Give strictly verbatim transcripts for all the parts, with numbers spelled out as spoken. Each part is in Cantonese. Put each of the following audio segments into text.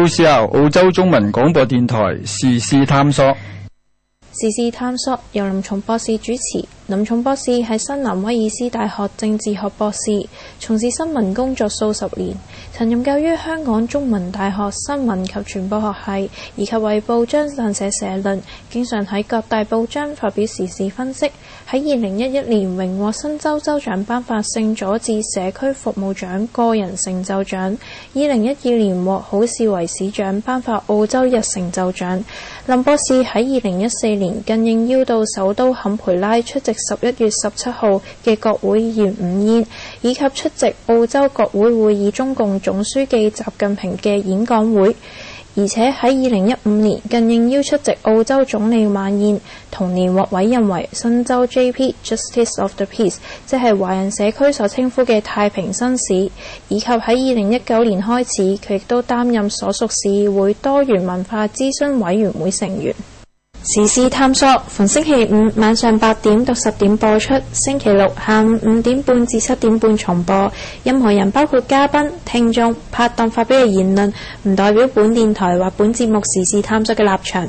two C R 澳洲中文廣播電台時事探索。 時事探索由林松博士主持。林松博士係新南威爾斯大學政治學博士，從事新聞工作數十年，曾任教於香港中文大學新聞及傳播學系，以及為報章撰寫社論，經常喺各大報章發表時事分析。喺二零一一年榮獲新州州長頒發聖佐治社區服務獎個人成就獎，二零一二年獲好市圍市長頒發澳洲日成就獎。林博士喺二零一四年更應邀到首都坎培拉出席十一月十七號嘅國會議員午宴，以及出席澳洲國會會議中共總書記習近平嘅演講會，而且喺二零一五年更應邀出席澳洲總理晚宴，同年獲委任為新州 J P Justice of the Peace， 即係華人社區所稱呼嘅太平紳士，以及喺二零一九年開始，佢亦都擔任所屬市議會多元文化諮詢委員會成員。時事探索逢星期五晚上八點到十點播出，星期六下午五點半至七點半重播。任何人包括嘉賓、聽眾、拍檔發表嘅言論，唔代表本電台或本節目時事探索嘅立場。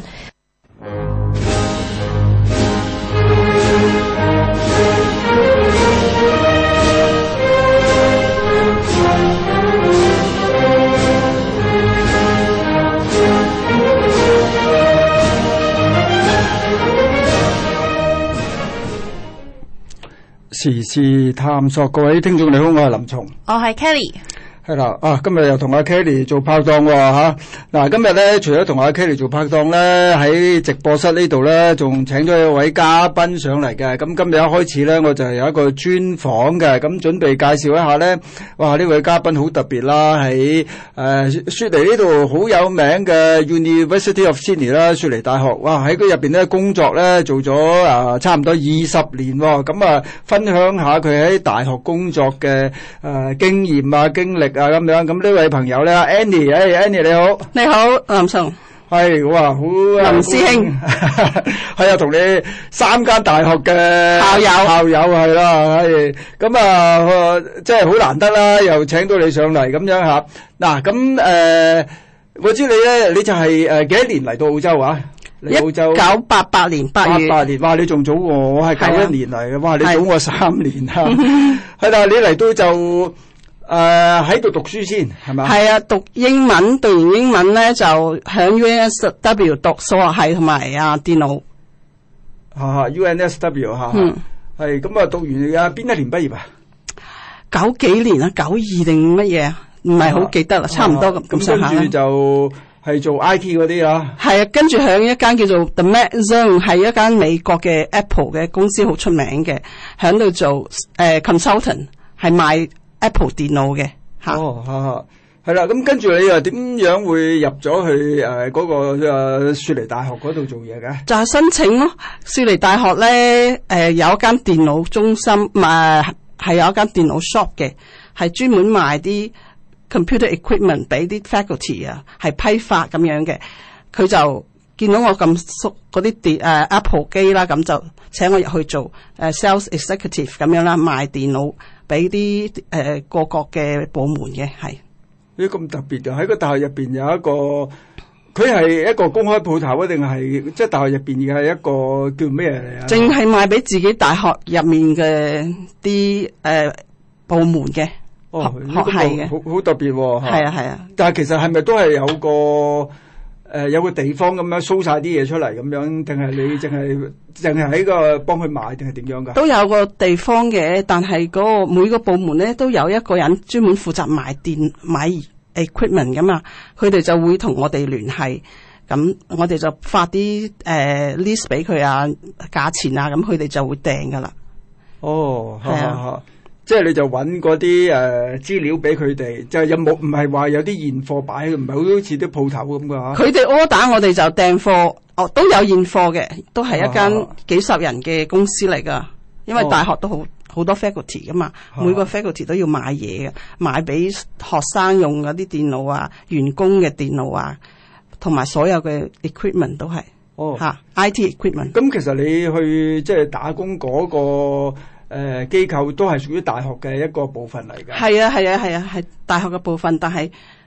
時事探索，各位聽眾你好，我係林松， 我係 Kelly。 係啦，啊，今日又同阿 Kelly 做拍檔喎吓。嗱，今日咧除咗同阿 Kelly 做拍檔咧，喺直播室呢度咧，仲請咗一位嘉賓上嚟嘅。咁今日一開始咧，我就有一個專訪嘅，咁準備介紹一下咧。哇，呢位嘉賓好特別啦，喺誒雪梨呢度好有名嘅 University of Sydney 啦，雪梨大學。哇，喺佢入邊咧工作咧做咗啊差唔多二十年喎。咁啊，分享下佢喺大學工作嘅誒經驗啊經歷。啊咁樣，咁呢位朋友咧 Annie， 誒、hey, Annie 你好， 你好林松， 係哇好林師兄， 係啊，同你三間大學嘅校友校友係啦，係咁啊，即係好難得啦，又請到你上嚟咁樣吓。嗱咁誒，我知你咧，你就係誒幾多年嚟到澳洲啊？嚟澳洲一九八八年八月， 八八年，哇！你仲早我，我係九一年嚟嘅，哇！你早我三年啊，係啦，你嚟到就。誒，喺度、uh, 讀書先係咪？係啊，讀英文，讀完英文咧就響 U N S W 讀數學系同埋啊電腦。 吓 U N S W 吓，嗯，係咁啊，讀完啊邊一年畢業啊？ 九幾年啊，九二定乜嘢啊？唔係好記得啦，啊、差唔多咁咁上下啦。 跟住就係做 I T 嗰啲啦。係啊，跟住響一間叫做 The Mac Zone， 係一間美國嘅 Apple 嘅公司，好出名嘅，響度做誒、呃、consultant， 係賣Apple 電腦嘅吓。 哦，吓吓，係啦。咁跟住你又點樣會入咗去誒嗰、呃那個誒、呃、雪梨大學嗰度做嘢嘅？ 就係申請咯。雪梨大學咧誒、呃、有一間電腦中心，唔係係有一間電腦 shop 嘅，係專門賣啲 computer equipment 俾啲 faculty 啊，係批發咁樣嘅。佢就見到我咁熟嗰啲電誒 Apple 機啦，咁就請我入去做誒、呃、sales executive 咁樣啦，賣電腦。俾啲誒各國嘅部門嘅係， 咦咁特別嘅，喺個大學入邊有一個，佢係一個公開鋪頭啊，定係即係大學入邊嘅係一個叫咩嚟啊？ 淨係賣俾自己大學入面嘅啲誒部門嘅、 哦、 學學系嘅， 好好特別喎。 係啊係啊， 但係其實係咪都係有個？誒、呃，有個地方咁樣 show 晒啲嘢出嚟咁樣，定係你淨係淨係喺個幫佢買，定係點樣噶？ 都有個地方嘅，但係嗰個每個部門咧都有一個人專門負責買電買 equipment 噶嘛，佢哋就會同我哋聯繫，咁我哋就發啲誒、呃、list 俾佢啊，價錢啊，咁佢哋就會訂噶啦。 哦，係啊。即係你就揾嗰啲誒資料俾佢哋，就有冇唔係話有啲現貨擺，唔係好似啲鋪頭咁噶嚇。 佢哋 order 我哋就訂貨，哦都有現貨嘅，都係一間幾十人嘅公司嚟噶。因為大學都好好多 faculty 噶嘛，啊、每個 faculty 都要買嘢嘅，買俾學生用嗰啲電腦啊，員工嘅電腦啊，同埋所有嘅 equipment 都係哦嚇 I T equipment。咁其實你去即係打工嗰、嗰個。誒、呃，機構都係屬於大學嘅一個部分嚟嘅。 係啊，係啊，係啊，係大學嘅部分，但係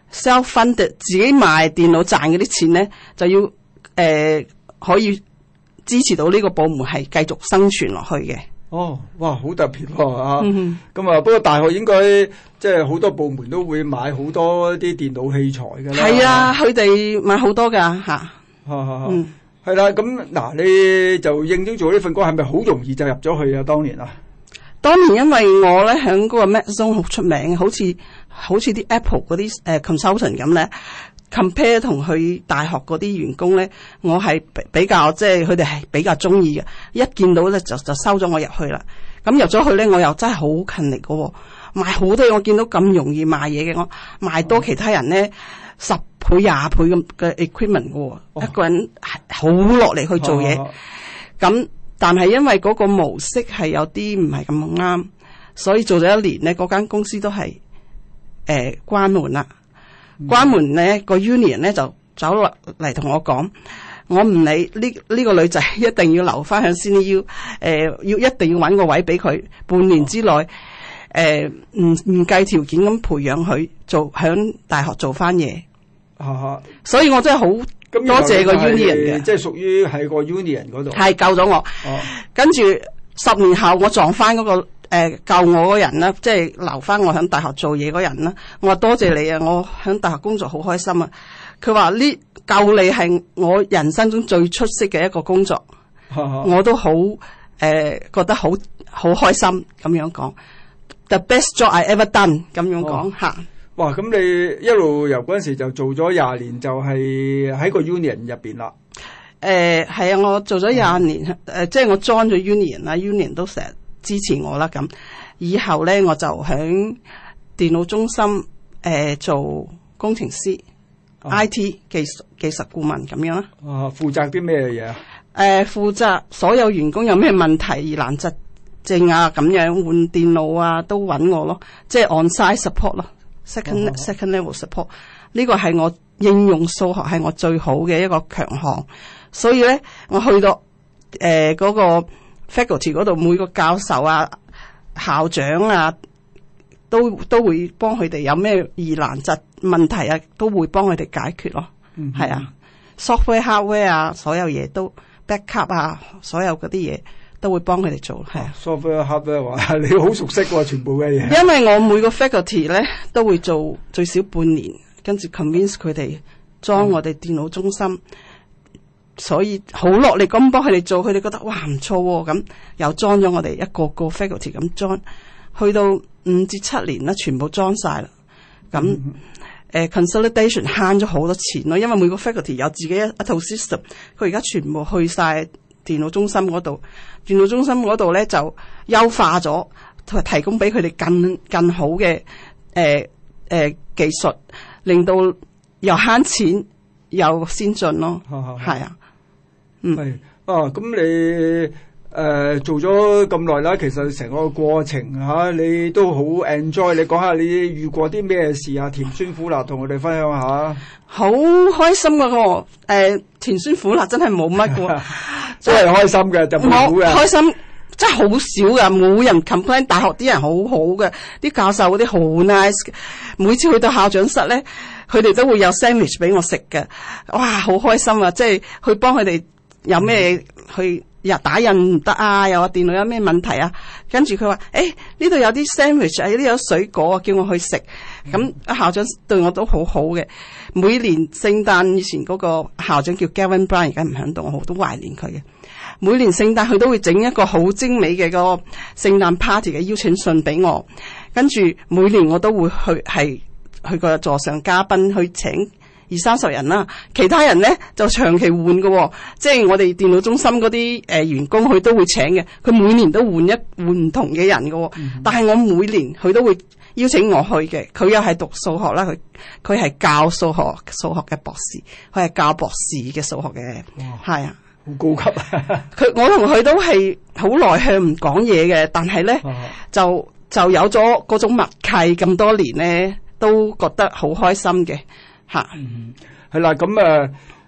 self-funded 自己賣電腦賺嗰啲錢咧，就要誒、呃、可以支持到呢個部門係繼續生存落去嘅。 哦，哇，好特別喎啊！咁、 嗯、 啊，不過大學應該即係好多部門都會買好多啲電腦器材㗎啦。 係啊，佢哋買好多㗎嚇。 嗯，係啦。咁嗱，你就應徵做呢份工，係咪好容易就入咗去啊？當年啊， 當年因為我咧喺嗰個 Mac Zone 好出名，好似好似啲 Apple 嗰啲誒 consultant 咁咧。compare 同佢大學嗰啲員工咧，我係比較即係佢哋係比較中意嘅，一見到咧就就收咗我入去啦。咁入咗去咧，我又真係好勤力嘅喎，賣好多嘢。我見到咁容易賣嘢嘅，我賣多其他人咧十倍廿倍咁嘅 equipment 嘅喎，哦、一個人好落嚟去做嘢。咁、哦、但係因為嗰個模式係有啲唔係咁啱，所以做咗一年咧，嗰間公司都係誒、呃、關門啦。關門咧，個 union 咧就走落嚟同我講，我唔理呢呢個女仔一定要留翻響 C N U， 誒要一定要搵個位俾佢，半年之內誒唔唔計條件咁培養佢做響大學做翻嘢。啊，所以我真係好多謝個 union 嘅， 即係屬於喺個 union 嗰度， 係救咗我。哦，跟住十年後我撞翻嗰個。誒、呃，救我嗰人啦，即係留翻我喺大學做嘢嗰人啦。我話多謝你啊，我喺大學工作好開心啊。佢話呢救你係我人生中最出色嘅一個工作，我都好誒、呃、覺得好好開心咁樣講。The best job I ever done 咁樣講吓。 哇，咁你一路由嗰陣時就做咗廿年，就係喺個 union 入邊啦。 誒，係啊，我做咗廿年，誒、呃，即係我 join 咗 union 啦 ，union 都成日支持我啦。咁以後咧，我就喺電腦中心誒、呃、做工程師、啊、I T 技術技術顧問咁樣啦。 啊，負責啲咩嘢啊？誒、 呃，負責所有員工有咩問題、疑難疾症啊，咁樣換電腦啊，都揾我咯。即係 on-site support 咯 ，second、啊、second level support。呢個係我應用數學係我最好嘅一個強項，所以咧，我去到誒嗰、呃那個 faculty 嗰度，每個教授啊、校長啊，都都會幫佢哋有咩疑難疾問題啊，都會幫佢哋解決咯。嗯，係啊 ，software、hardware 啊，所有嘢都 backup 啊，所有嗰啲嘢都會幫佢哋做。係啊 ，software、hardware 話你好熟悉喎，全部嘅嘢。 因為我每個 faculty 咧都會做最少半年，跟住 convince 佢哋裝我哋電腦中心。嗯，所以好落力咁幫佢哋做，佢哋覺得哇唔錯喎，咁又裝咗我哋一個個 faculty 咁裝，去到五至七年啦，全部裝晒啦。咁誒、嗯呃、consolidation 慳咗好多錢咯，因為每個 faculty 有自己一一套 system， 佢而家全部去晒電腦中心嗰度，電腦中心嗰度咧就優化咗，同埋提供俾佢哋更更好嘅誒誒技術，令到又慳錢又先進咯，係啊。嗯，係啊，咁你誒、呃、做咗咁耐啦，其實成個過程吓、啊，你都好 enjoy。你講下你遇過啲咩事啊？甜酸苦辣，同我哋分享下。好開心噶、啊，我誒、呃、甜酸苦辣真係冇乜噶，真係開心嘅就冇嘅。開心真係好少噶，冇人 complain。大學啲人好好嘅，啲教授嗰啲好 nice。每次去到校長室咧，佢哋都會有 sandwich 俾我食嘅。哇，好開心啊！即係去幫佢哋。有咩去日打印唔得啊？又話電腦有咩問題啊？跟住佢話：誒呢度有啲 sandwich 啊，呢度有水果啊，叫我去食。咁、嗯、校長對我都好好嘅。每年聖誕以前嗰個校長叫 Gavin Brown， 而家唔響度，我好都懷念佢嘅。每年聖誕佢都會整一個好精美嘅個聖誕 party 嘅邀請信俾我。跟住每年我都會去係去個座上嘉賓去請。二三十人啦，其他人咧就長期換嘅、哦，即係我哋電腦中心嗰啲誒員工，佢都會請嘅。佢每年都換一換唔同嘅人嘅、哦，嗯、但係我每年佢都會邀請我去嘅。佢又係讀數學啦，佢佢係教數學數學嘅博士，佢係教博士嘅數學嘅，係啊，好高級啊！佢我同佢都係好內向唔講嘢嘅，但係咧、啊、就就有咗嗰種默契，咁多年咧都覺得好開心嘅。吓，嗯，係啦，咁啊，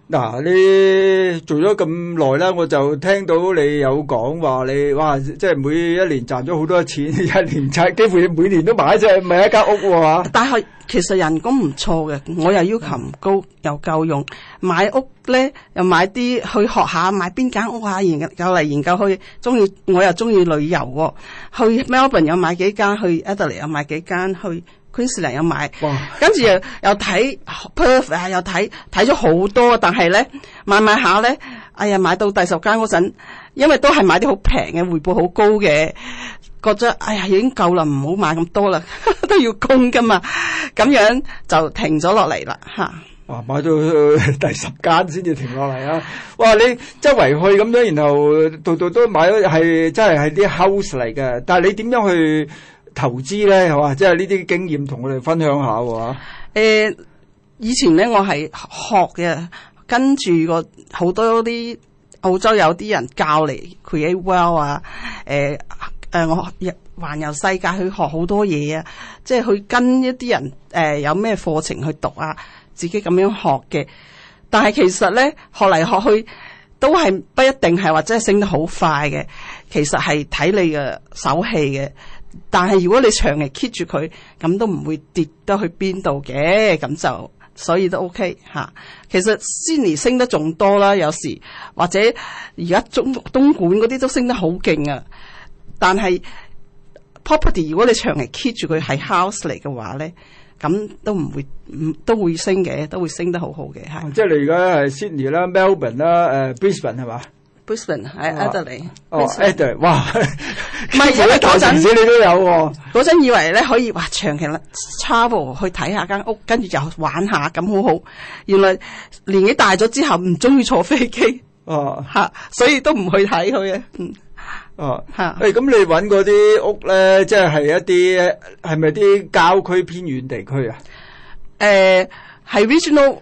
嗱，你做咗咁耐啦，我就聽到你有講話你哇，即係每一年賺咗好多錢，一年賺幾乎每年都買一隻買一間屋喎。 但係其實人工唔錯嘅，我又要求唔高，嗯、又夠用。買屋咧又買啲去學下買邊間屋啊，研究嚟研究去。中意我又中意旅遊喎、哦，去 Melbourne 又買幾間，去 Adelaide 又買幾間，去 Queensland 又買。跟住又又睇 Perth 啊，又睇睇咗好多，但係咧買買下咧，哎呀買到第十間嗰陣，因為都係買啲好平嘅，回報好高嘅，覺得哎呀已經夠啦，唔好買咁多啦，都要供噶嘛，咁樣就停咗落嚟啦嚇。 哇！買到第十間先至停落嚟啊！哇！你周圍去咁樣，然後度度都買咗，係真係係啲 house 嚟嘅。但係你點樣去投資咧？係嘛？即係呢啲經驗同我哋分享下喎。 誒，以前咧我係學嘅，跟住個好多啲澳洲有啲人教嚟 create wealth 啊，誒、呃、誒，我環遊世界去學好多嘢啊，即係去跟一啲人誒、呃、有咩課程去讀啊。自己咁樣學嘅，但係其實咧學嚟學去都係不一定係或者係升得好快嘅，其實係睇你嘅手氣嘅。但係如果你長期 keep 住佢，咁都唔會跌得去邊度嘅，咁就所以都 OK 吓。其實 Sydney 升得仲多啦，有時或者而家中東莞嗰啲都升得好勁啊。但係 property 如果你長期 keep 住佢係 house 嚟嘅話咧，咁都唔會，唔都會升嘅，都會升得好好嘅嚇。即係你而家係 Sydney 啦、Melbourne 啦、誒 Brisbane 係嘛 ？Brisbane 喺 Adelaide。 哦 Adelaide，哇！ 唔係因為嗰陣你都有喎。 嗰陣以為咧可以話長期 travel 去睇下間屋，跟住又玩下咁好好。原來年紀大咗之後唔中意坐飛機。哦。嚇，所以都唔去睇佢嘅。嗯。 哦，嚇！誒，咁你揾嗰啲屋咧，即係係一啲係咪啲郊區偏遠地區啊？ 誒，係 regional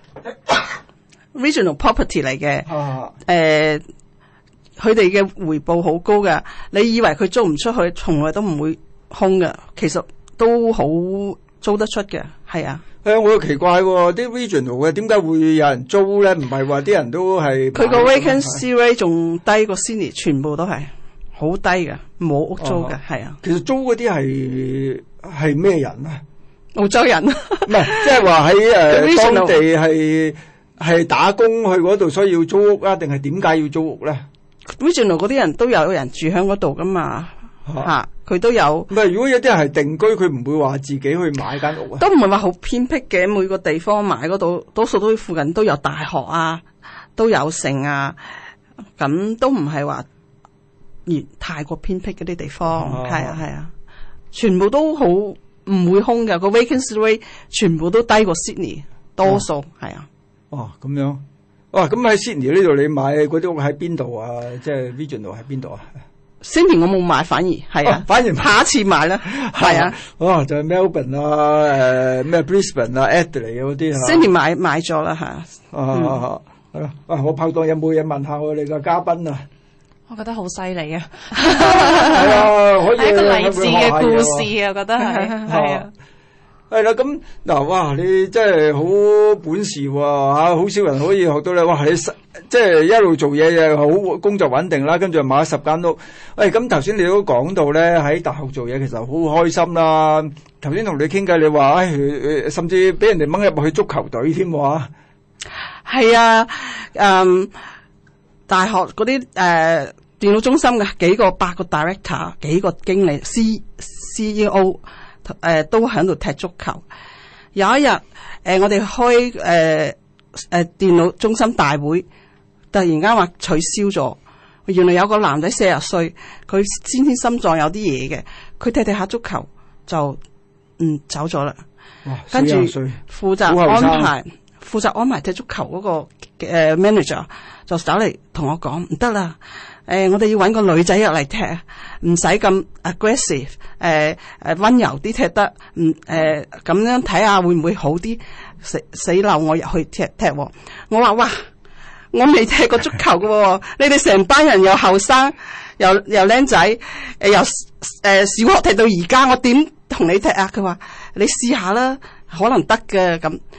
regional property 嚟嘅。哦。誒，佢哋嘅回報好高㗎。你以為佢租唔出去，從來都唔會空㗎。其實都好租得出嘅，係啊。 誒，我又奇怪喎，啲 regional 嘅點解會有人租咧？唔係話啲人都係佢個 vacancy rate 仲低過 Sydney，全部都係。好低嘅，冇屋租嘅，係啊。 其實租嗰啲係係咩人啊？ 澳洲人，唔係即係話喺誒當地係係打工去嗰度，所以要租屋啊？定係點解要租屋咧 ？Regional 嗰啲人都有人住喺嗰度噶嘛，嚇佢、啊、都有。 唔係如果有啲人係定居，佢唔會話自己去買間屋啊？ 都唔係話好偏僻嘅，每個地方買嗰度，多數都附近都有大學啊，都有城啊，咁都唔係話。而太過偏僻嗰啲地方，係啊係啊，全部都好唔會空嘅，個 vacancy rate 全部都低過 Sydney 多數係啊。 哦，咁樣，哇！咁喺 Sydney 呢度你買嗰啲屋喺邊度啊？即係 regional 喺邊度啊 ？Sydney 我冇買，反而係啊， 反而下一次買啦，係啊。 哦，就係 Melbourne 啊，誒咩 Brisbane 啊 Adelaide 嗰啲嚇。 Sydney 買買咗啦嚇。 啊，係咯。啊，我拍檔有冇嘢問下我哋嘅嘉賓啊？ 我覺得好犀利啊！ 係啊，可以係一個勵志嘅故事啊，我覺得係係啊。 係啦，咁嗱，哇！你真係好本事喎，嚇！好少人可以學到你。哇！你即係一路做嘢又好，工作穩定啦，跟住又買咗十間屋。誒，咁頭先你都講到咧，喺大學做嘢其實好開心啦。頭先同你傾偈，你話誒，甚至俾人哋掹入去足球隊添喎。 係啊，嗯。大學嗰啲誒電腦中心嘅幾個八個 director 幾個經理 C C E O 誒、呃、都喺度踢足球。有一日誒、呃、我哋開誒誒、呃呃、電腦中心大會，突然間話取消咗。原來有個男仔四十歲，佢先天心臟有啲嘢嘅，佢踢踢下足球就嗯走咗啦。跟住負責安排負責安排踢足球嗰、那個誒、呃、manager。就走嚟同我講唔得啦，誒、呃，我哋要搵個女仔入嚟踢，唔使咁 aggressive，誒、呃、誒溫柔啲踢得，唔誒咁樣睇下會唔會好啲？死死漏我入去踢踢，我話哇，我未踢過足球噶，你哋成班人又後生，又又僆仔，誒、呃、由誒、呃、小學踢到而家，我點同你踢啊？佢話你試下啦，可能得嘅咁。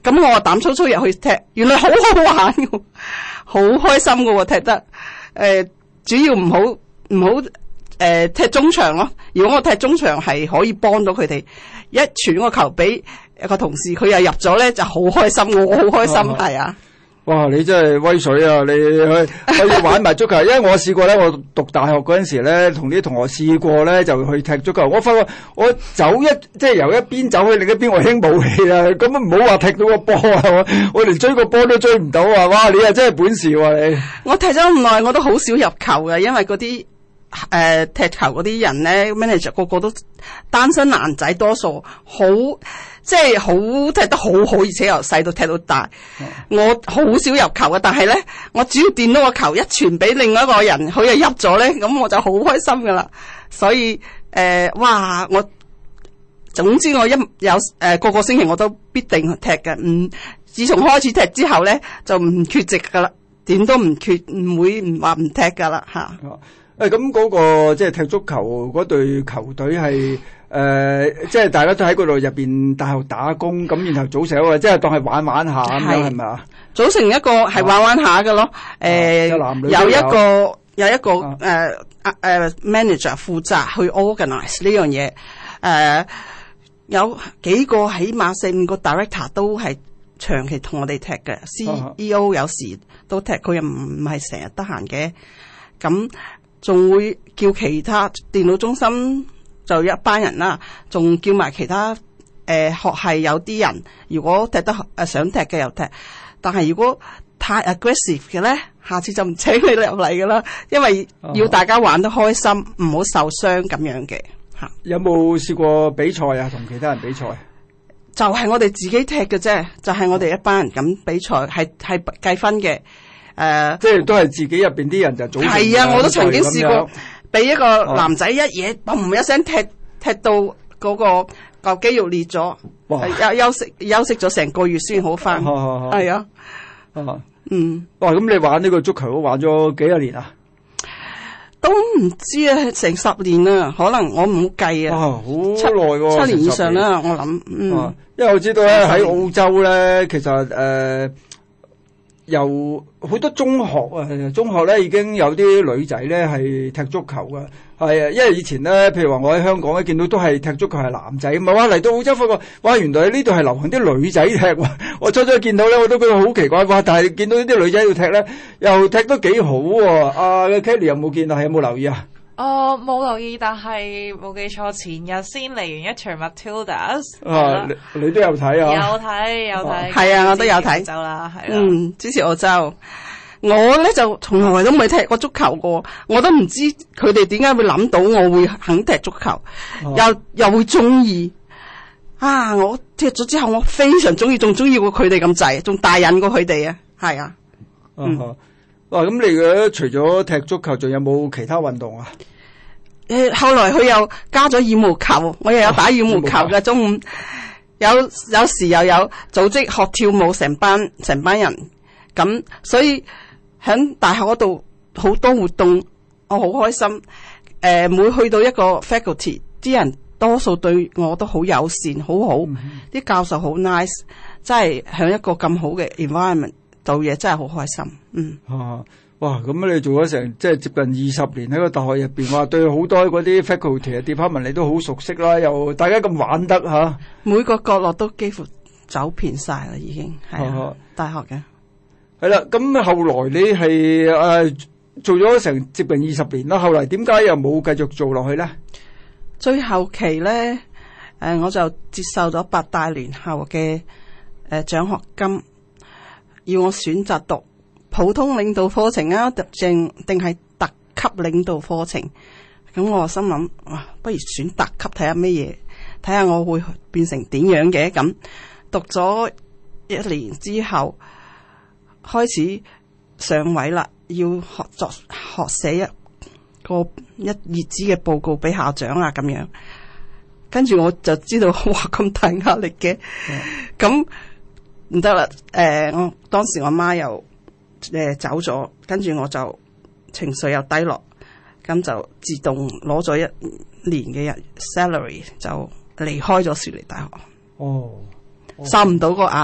咁我膽粗粗入去踢，原來好好玩嘅，好開心嘅喎踢得。誒、呃，主要唔好唔好誒踢中場咯。如果我踢中場係可以幫到佢哋，一傳個球俾一個同事，佢又入咗咧，就好開心，我好開心，係啊。 哇！你真係威水啊！你去可以玩埋足球，因為我試過咧，我讀大學嗰陣時咧，同啲同學試過咧，就去踢足球。我發覺我走一即係由一邊走去另一邊，我輕武器啦。咁啊，唔好話踢到個波啊！我我連追個波都追唔到啊！哇！你啊真係本事喎、啊、你！ 我踢咗咁耐，我都好少入球嘅，因為嗰啲誒踢球嗰啲人咧 ，manager 個個都單身男仔，多數好。即係好踢得好好，而且由細到踢到大。嗯、我好少入球嘅，但係咧，我只要掂到個球一傳俾另外一個人，佢又入咗咧，咁我就好開心噶啦。所以誒、呃，哇！我總之我一有誒、呃、個個星期我都必定踢嘅。嗯，自從開始踢之後咧，就唔缺席噶啦，點都唔缺，唔會唔話唔踢噶啦吓。 誒咁嗰個即係踢足球嗰隊球隊係。誒、呃，即係大家都喺嗰度入邊大學打工，咁然後組成一個，即係當係玩玩下咁樣，係咪啊？組成一個係玩玩下嘅咯。誒，有一個有一個誒誒、啊呃、manager 負責去 organize 呢樣嘢。誒、呃，有幾個起碼四五個 director 都係長期同我哋踢嘅 ，C E O 有時都踢，佢又唔唔係成日得閒嘅。咁仲會叫其他電腦中心。就一班人啦，仲叫埋其他誒、呃、學系有啲人，如果踢得誒、呃、想踢嘅又踢，但係如果太 aggressive 嘅咧，下次就唔請你入嚟噶啦，因為要大家玩得開心，唔好、uh huh. 受傷咁樣嘅嚇。有冇試過比賽啊？同其他人比賽？就係我哋自己踢嘅啫，就係、是、我哋一班人咁比賽，係係計分嘅。誒、呃，即係都係自己入邊啲人就組成。係啊，我都曾經試過。俾一個男仔一嘢，嘣一聲踢踢到嗰個嚿肌肉裂咗，休休息休息咗成個月先好翻。係啊，嗯，哇！咁你玩呢個足球都玩咗幾多年啊？都唔知啊，成十年啦，可能我唔計啊。好耐喎，七年以上啦，我諗。嗯，因為我知道咧喺澳洲咧，其實誒。由好多中學啊，中學咧已經有啲女仔咧係踢足球噶，係啊，因為以前咧，譬如話我喺香港咧見到都係踢足球係男仔，唔係話嚟到澳洲發覺，哇，原來呢度係流行啲女仔踢喎。我初初見到咧，我都覺得好奇怪，哇！但係見到呢啲女仔喺度踢咧，又踢得幾好喎。阿 Kelly 有冇見啊？有冇留意啊？ 哦，冇留意，但係冇記錯，前日先嚟完一場 Matildas。 啊，你你都有睇啊？ 有睇有睇， 係啊，我都有睇。 澳洲啦，係啦。嗯， 支持澳洲。我咧就從來都未踢過足球過，我都唔知佢哋點解會諗到我會肯踢足球，又又會中意。啊！我踢咗之後，我非常中意，仲中意過佢哋咁滯，仲大癮過佢哋啊！係啊。嗯。哇！咁你嘅除咗踢足球，仲有冇其他運動啊？誒，後來佢又加咗羽毛球，我又有打羽毛球嘅。中午有有時又有組織學跳舞，成班成班人咁，所以喺大學嗰度好多活動，我好開心。誒、呃，每去到一個 faculty， 啲人多數對我都好友善，好好，啲、嗯、教授好 nice，真係喺一個咁好嘅 environment。做嘢真係好開心，嗯。啊，哇！咁你做咗成即係接近二十年喺個大學入邊，話對好多嗰啲 faculty 啊 department 你都好熟悉啦，又大家咁玩得嚇。啊、每個角落都幾乎走遍晒啦，已經係啊，啊大學嘅。係啦，咁後來你係誒、呃、做咗成接近二十年啦，後來點解又冇繼續做落去咧？最後期咧，誒、呃、我就接受咗八大聯校嘅誒獎學金。要我選擇讀普通領導課程啊，定定係特級領導課程？咁我心諗，哇，不如選特級睇下咩嘢，睇下我會變成點樣嘅。咁讀咗一年之後，開始上位啦，要學作學寫一個一頁紙嘅報告俾校長啊，咁樣。跟住我就知道，哇，咁大壓力嘅，咁、嗯。唔得啦！誒、呃，我當時我媽又誒、呃、走咗，跟住我就情緒又低落，咁就自動攞咗一年嘅日 salary 就離開咗雪梨大學。哦，受唔到個壓力。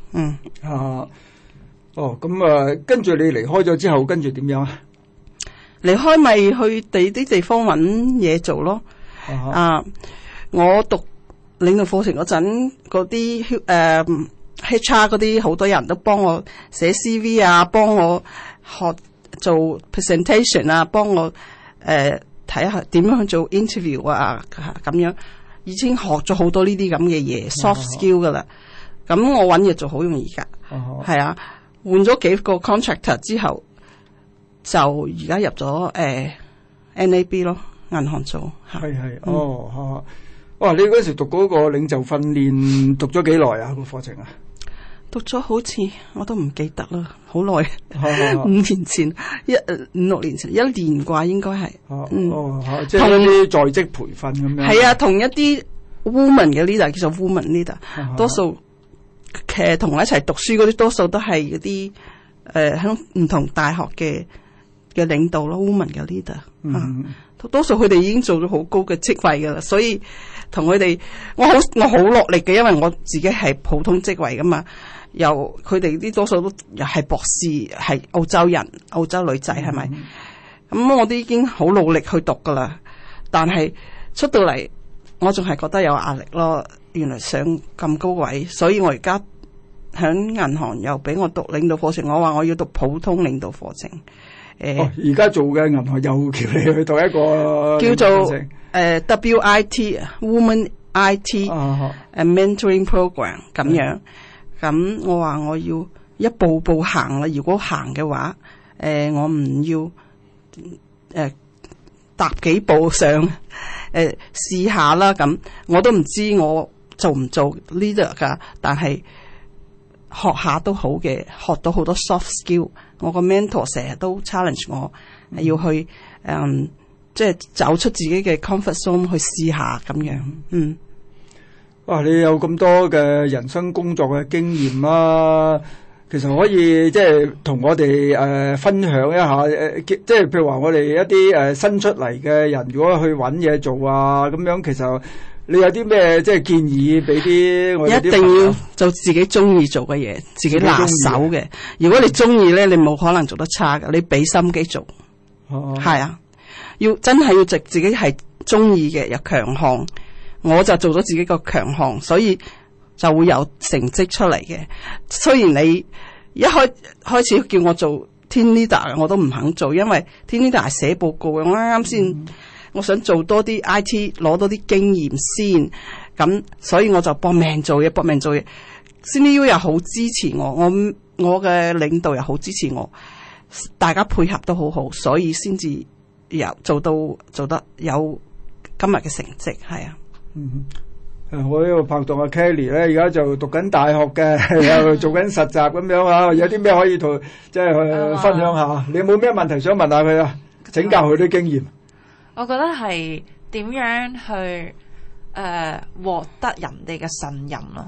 嗯啊，哦，咁啊，跟住你離開咗之後，跟住點樣啊？ 離開咪去第啲地方揾嘢做咯。啊，啊，我讀領導課程嗰陣，嗰啲誒 H R 嗰啲好多人都幫我寫 C V 啊，幫我學做 presentation 啊，幫我誒睇下點樣去做 interview 啊，咁樣已經學咗好多呢啲咁嘅嘢 soft skill 噶啦。咁我揾嘢做好容易噶，係啊，換咗幾個 contractor 之後，就而家入咗誒、呃、N A B 咯，銀行做。 係係，哦嚇。哇！你嗰時讀嗰個領袖訓練讀咗幾耐啊？個課程啊？ 讀咗好似我都唔記得啦，好耐，五年前一五六年前一年啩，應該係。 哦， 嗯、 哦即係一啲在職培訓咁樣。 係啊，同一啲 woman 嘅 leader 叫做 woman leader，啊、多數其實同我一齊讀書嗰啲，多數都係嗰啲誒喺唔同大學嘅嘅領導咯 ，woman 嘅 leader、嗯。啊多數佢哋已經做咗好高嘅職位噶啦，所以同佢哋我好我好落力嘅，因為我自己係普通職位噶嘛。又佢哋啲多數都又係博士，係澳洲人、澳洲女仔係咪？咁、嗯、我都已經好努力去讀噶啦，但係出到嚟我仲係覺得有壓力咯。原來上咁高位，所以我而家響銀行又俾我讀領導課程，我話我要讀普通領導課程。誒，而家、 哦、做嘅銀行又叫你去讀一個叫做誒、呃、W I T，Women I T，誒、啊、Mentoring Program 咁樣。咁的我話我要一步步行啦。如果行嘅話，誒、呃、我唔要誒、呃、踏幾步上誒、呃、試下啦。咁我都唔知我做唔做 leader 噶，但係學下都好嘅，學到好多 soft skill。我個 mentor 成日都 challenge 我，嗯、要去誒、嗯，即係走出自己嘅 comfort zone 去試下咁樣。嗯， 哇！你有咁多嘅人生工作嘅經驗啦、啊，其實可以即係同我哋誒、呃、分享一下誒、呃，即係譬如話我哋一啲誒、呃、新出嚟嘅人，如果去揾嘢做啊咁樣，其實你有啲咩即係建議俾啲我哋啲？一定要做自己中意做嘅嘢，自己拿手嘅。如果你中意咧，你冇可能做得差㗎。你俾心機做，係啊，啊，要真係要直自己係中意嘅，又強項。我就做咗自己個強項，所以就會有成績出嚟嘅。雖然你一開開始叫我做 team leader，我都唔肯做，因為 team leader 係寫報告嘅。我啱啱先。嗯我想做多啲 I T， 攞多啲經驗先，咁所以我就搏命做嘢，搏命做嘢。C N U 又好支持我，我我嘅領導又好支持我，大家配合都好好，所以先至有做到做得有今日嘅成績，係啊。 嗯，誒，我呢個拍檔阿 Kelly 咧，而家就讀緊大學嘅，又做緊實習咁樣啊。有啲咩可以同即係去分享下？你有冇咩問題想問下佢啊？請教佢啲經驗。 我覺得係點樣去誒、呃、獲得人哋嘅信任咯，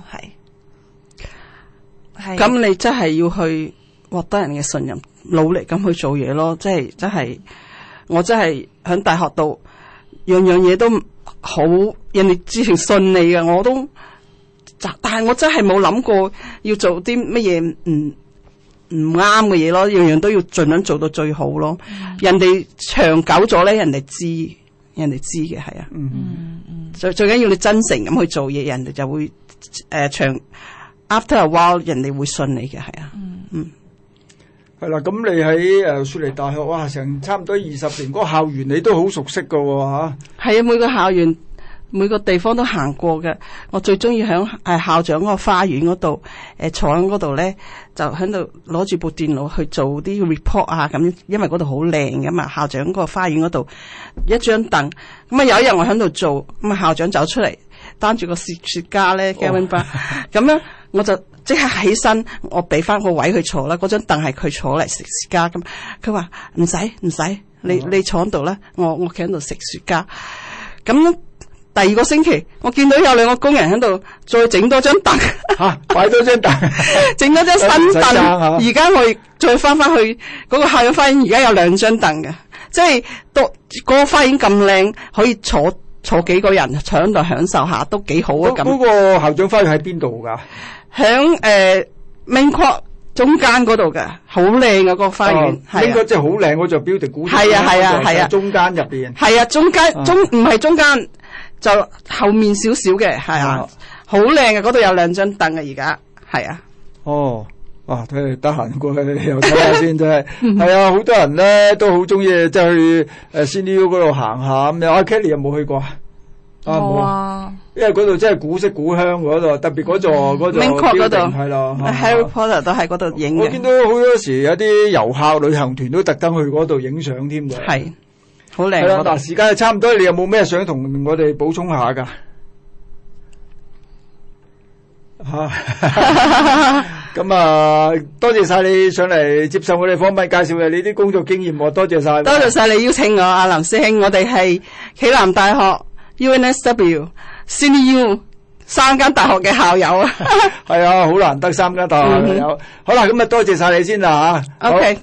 係係。 咁你真係要去獲得人嘅信任，努力咁去做嘢咯。即係真係，我真係喺大學度樣樣嘢都好，人哋之前信你嘅，我都，但係我真係冇諗過要做啲乜嘢唔唔啱嘅嘢咯，樣樣都要盡量做到最好咯。嗯、人哋長久咗咧，人哋知，人哋知嘅係啊。嗯嗯。最最緊要你真誠咁去做嘢，人哋就會誒、呃、長 after a while， 人哋會信你嘅係啊。嗯嗯。 係啦，咁你喺誒雪梨大學哇，成差唔多二十年，嗰、那個校園你都好熟悉噶喎嚇。係啊，每個校園。每個地方都行過嘅，我最中意響誒校長嗰個花園嗰度，誒、呃、坐喺嗰度咧，就喺度攞住部電腦去做啲 report 啊咁，因為嗰度好靚噶嘛，校長嗰個花園嗰度一張凳，咁啊有一日我喺度做，咁啊校長走出嚟，擔住個雪雪茄咧 Gavin Brown，咁樣我就即刻起身，我俾翻個位佢坐啦，嗰張凳係佢坐嚟食雪茄咁，佢話唔使唔使，你你坐喺度啦，我我企喺度食雪茄，咁。第二個星期，我見到有兩個工人喺度再整多張凳， 吓擺多張凳， 整多張新凳。而家我再翻翻去嗰個校長花園，而家有兩張凳嘅，即係都嗰個花園咁靚，可以坐坐幾個人坐喺度享受下，都幾好啊！咁嗰個校長花園喺邊度噶？ 響誒 main court 中間嗰度嘅，好靚嘅嗰個花園，係應該即係好靚嗰座 building，估係啊係啊係啊， 中間入邊係啊中間中唔係中間就後面少少嘅，係啊，好靚嘅嗰度有兩張凳嘅而家，係啊。 哦。哇！睇嚟得閒過去又睇下先，真係係啊！好多人咧都好中意即係去誒 Sydney U 嗰度行下咁樣。阿 Kelly 有冇去過啊？ 冇啊！ 因為嗰度真係古色古香嗰度，特別嗰座嗰座 building 嗰度係咯。 Harry Potter 都喺嗰度影嘅。 我見到好多時有啲遊客旅行團都特登去嗰度影相添嘅。 係，好靚。 係啦，嗱，時間係差唔多，你有冇咩想同我哋補充下㗎？嚇！咁啊，多謝晒你上嚟接受我哋訪問，介紹嘅你啲工作經驗，我多謝晒。 多謝晒你邀請我，阿林師兄，我哋係暨南大學、U N S W、Sydney U 三間大學嘅校友啊。 係啊，好難得三間大學校友。嗯、好啦，咁啊，多謝晒你先啦吓。 OK。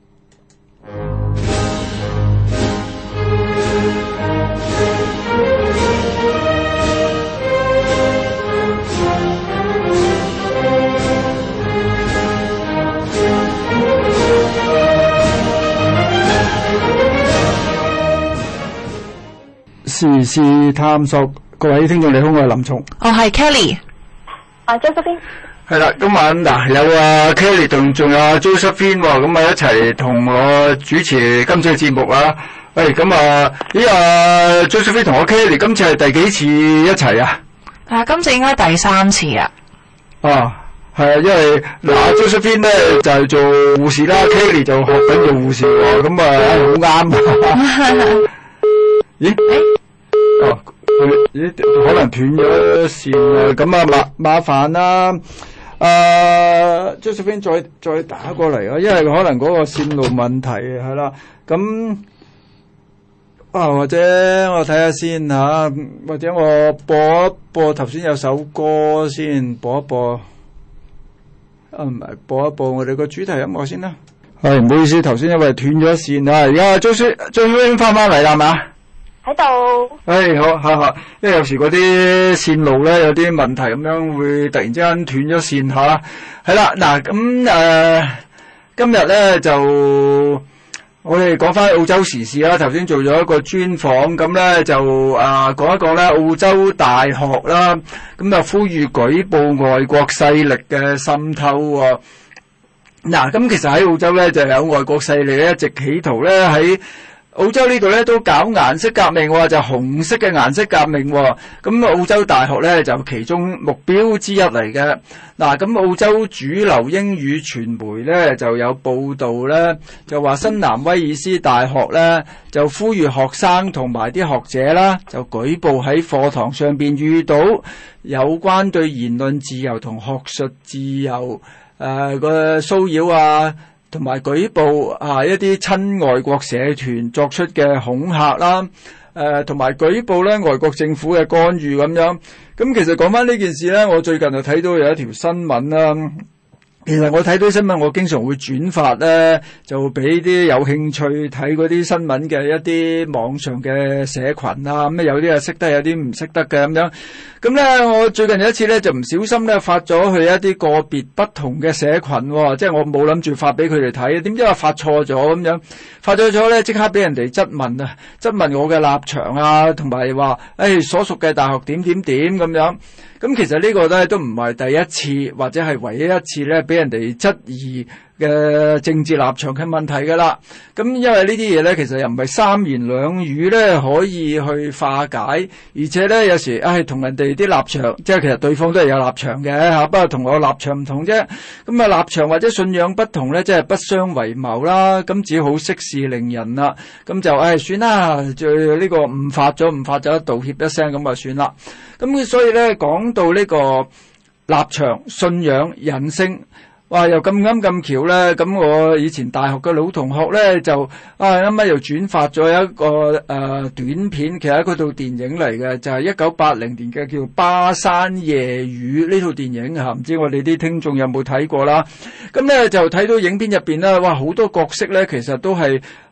時事探索，各位聽眾你好，我係林松， 我係 Kelly， 啊 Josephine， 係啦，今晚嗱有啊 Kelly 同仲有啊 Josephine 喎，咁啊一齊同我主持今次嘅節目啊。喂，咁啊，咦啊 Josephine 同我 Kelly 今次係第幾次一齊啊？ 啊，今次應該第三次啊。 啊，係啊，因為嗱 Josephine 咧就係做護士啦，Kelly 就學緊做護士喎，咁啊好啱。咦？哦，咦？可能斷咗線啊！咁啊，麻麻煩啦。啊 Josephine 再再打過嚟啊，因為可能嗰個線路問題係啦。咁啊，或者我睇下先吓，或者我播一播頭先有首歌先，播一播。啊，唔係播一播我哋個主題音樂先啦。係唔好意思，頭先因為斷咗線啊，而家 Josephine 翻翻嚟啦，係嘛？ 喺度。 誒，好，好，好，因為有時嗰啲線路咧有啲問題，咁樣會突然之間斷咗線吓。係啦，嗱，咁誒，今日咧就我哋講翻澳洲時事啦。頭先做咗一個專訪，咁咧就啊講一講咧澳洲大學啦，咁啊呼籲舉報外國勢力嘅滲透喎。嗱，咁其實喺澳洲咧就有外國勢力咧一直企圖咧喺澳洲呢度咧都搞顏色革命喎，就紅色嘅顏色革命喎。咁澳洲大學咧就其中目標之一嚟嘅。嗱，咁澳洲主流英語傳媒咧就有報道咧，就話新南威爾斯大學咧就呼籲學生同埋啲學者啦，就舉報喺課堂上邊遇到有關對言論自由同學術自由誒個騷擾啊，同埋舉報啊一啲親外國社團作出嘅恐嚇啦，誒同埋舉報咧外國政府嘅干預咁樣。咁其實講翻呢件事咧，我最近就睇到有一條新聞啦。其實我睇到新聞，我經常會轉發咧，就俾啲有興趣睇嗰啲新聞嘅一啲網上嘅社群啊，咁有啲係識得，有啲唔識得嘅咁樣。咁咧，我最近有一次咧，就唔小心咧發咗去一啲個別不同嘅社群，哦，即係我冇諗住發俾佢哋睇，點知我發錯咗咁樣，發咗咗咧，即刻俾人哋質問啊，質問我嘅立場啊，同埋話誒所屬嘅大學點點點咁樣。咁其實呢個咧都唔係第一次，或者係唯一一次咧俾人哋質疑嘅政治立場嘅問題㗎啦。咁因為呢啲嘢咧，其實又唔係三言兩語咧可以去化解，而且咧有時唉同人哋啲立場，即係其實對方都係有立場嘅嚇，不過同我立場唔同啫。咁啊立場或者信仰不同咧，即係不相為謀啦。咁只好息事寧人啦。咁就唉算啦，就呢個誤發咗，誤發咗道歉一聲咁啊算啦。咁所以咧講到呢個立場、信仰、人性，哇又咁啱咁巧咧，咁我以前大學嘅老同學咧就啊啱啱又轉發咗一個誒、呃、短片，其實係嗰套電影嚟嘅，就係一九八零年嘅叫《巴山夜雨》呢套電影嚇，唔知我哋啲聽眾有冇睇過啦？咁咧就睇到影片入邊咧，哇好多角色咧其實都係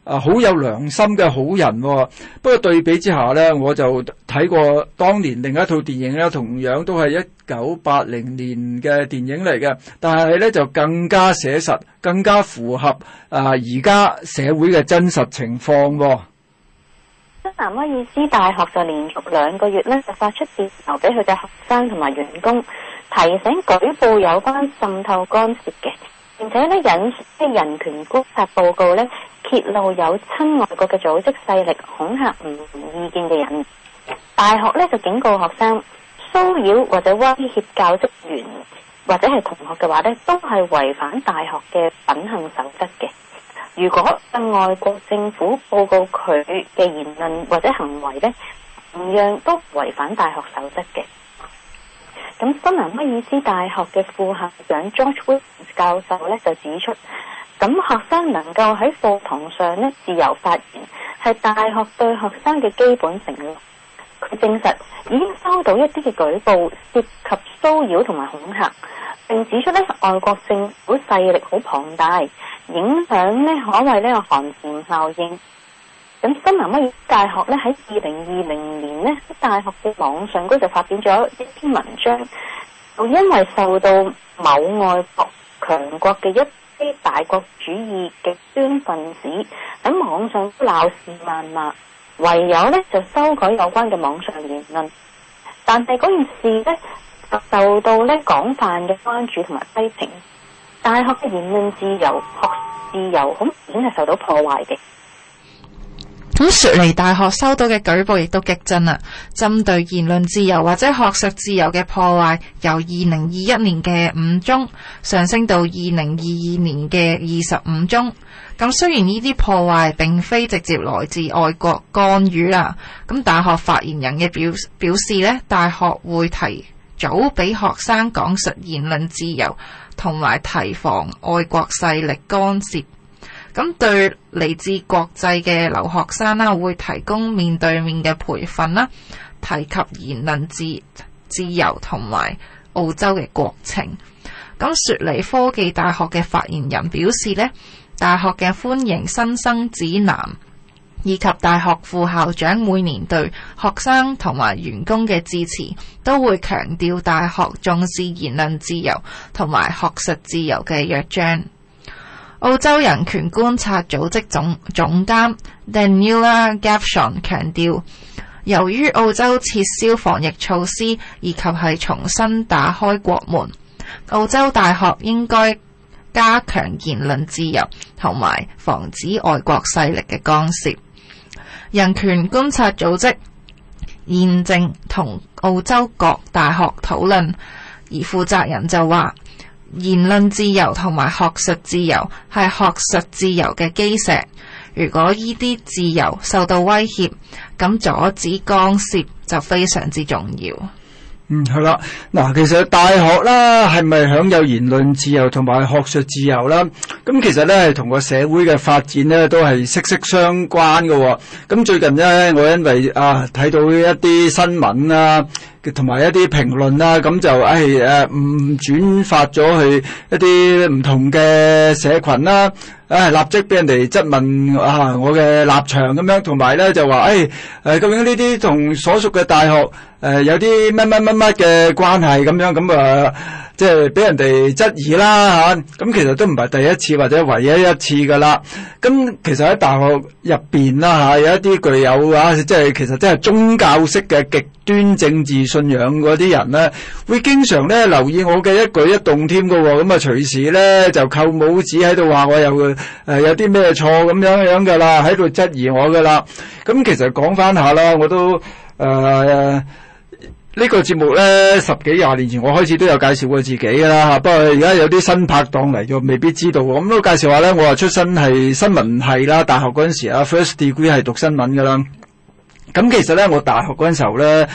啊好有良心嘅好人喎。不過對比之下咧，我就睇過當年另一套電影咧，同樣都係一九八零年嘅電影嚟嘅，但係咧就更加寫實，更加符合啊而家社會嘅真實情況喎。 新南威爾斯大學就連續兩個月咧就發出電郵俾佢嘅學生同埋員工，提醒舉報有關滲透干涉嘅，並且咧引述啲人權觀察報告咧揭露有親外國嘅組織勢力恐嚇唔同意見嘅人。大學咧就警告學生，騷擾或者威脅教職員或者係同學嘅話咧，都係違反大學嘅品行守則嘅。如果向外國政府報告佢嘅言論或者行為咧，同樣都違反大學守則嘅。咁新南威爾斯大學嘅副校長 George Williams 教授咧就指出，咁學生能夠喺課堂上咧自由發言，係大學對學生嘅基本承諾。佢證實已經收到一啲嘅舉報涉及騷擾同埋恐嚇，並指出咧外國政府勢力好龐大，影響咧可謂呢個寒蟬效應。咁新南威爾斯大學咧喺二零二零年咧喺大學嘅網上嗰就發表咗一篇文章，就因為受到某外國強國嘅一啲大國主義極端分子喺網上鬧事謾罵，唯有咧就修改有關嘅網上言論。但係嗰件事咧就受到咧廣泛嘅關注同埋批評，大學嘅言論自由、學自由好明顯係受到破壞嘅。 咁雪梨大學收到嘅舉報亦都激增啦，針對言論自由或者學術自由嘅破壞，由二零二一年嘅五宗上升到二零二二年嘅二十五宗。咁雖然呢啲破壞並非直接來自外國干預啦，咁大學發言人嘅表表示呢，大學會提早俾學生講述言論自由，同埋提防外國勢力干涉。咁對嚟自國際嘅留學生啦，會提供面對面嘅培訓啦，提及言論自自由同埋澳洲嘅國情。咁雪梨科技大學嘅發言人表示呢，大學嘅歡迎新生指南以及大學副校長每年對學生同埋員工嘅致辭，都會強調大學重視言論自由同埋學術自由嘅約章。澳洲人權觀察組織總總監 Daniela Gavshon 強調，由於澳洲撤銷防疫措施以及係重新打開國門，澳洲大學應該加強言論自由同埋防止外國勢力嘅干涉。人權觀察組織現正同澳洲各大學討論，而負責人就話，言論自由同埋學術自由係學術自由嘅基石，如果呢啲自由受到威脅，咁阻止干涉就非常之重要。 嗯，係啦，嗱，其實大學啦，係咪享有言論自由同埋學術自由啦？咁其實咧，係同個社會嘅發展咧，都係息息相關嘅喎。咁最近咧，我因為啊睇到一啲新聞啊，同埋一啲評論啦，咁就誒誒唔轉發咗去一啲唔同嘅社群啦。誒，立即俾人哋質問啊，我嘅立場咁樣，同埋咧就話誒誒，究竟呢啲同所屬嘅大學誒、呃、有啲乜乜乜乜嘅關係咁樣，咁啊，即係俾人哋質疑啦吓。咁、啊、其實都唔係第一次或者唯一一次噶啦。咁其實喺大學入邊啦吓，有一啲具有啊，即係其實真係宗教式嘅極端政治信仰嗰啲人咧，會經常咧留意我嘅一舉一動添噶。咁啊，隨時咧就扣帽子喺度話我有。誒、呃，有啲咩錯咁樣樣噶啦，喺度質疑我噶啦。咁其實講翻下啦，我都誒、呃這個、呢個節目咧，十幾廿年前我開始都有介紹過自己噶啦吓。不過而家有啲新拍檔嚟就未必知道。咁都介紹下咧，我話出身係新聞系啦，大學嗰陣時啊 ，first degree 係讀新聞噶啦。咁其實咧，我大學嗰陣時候咧。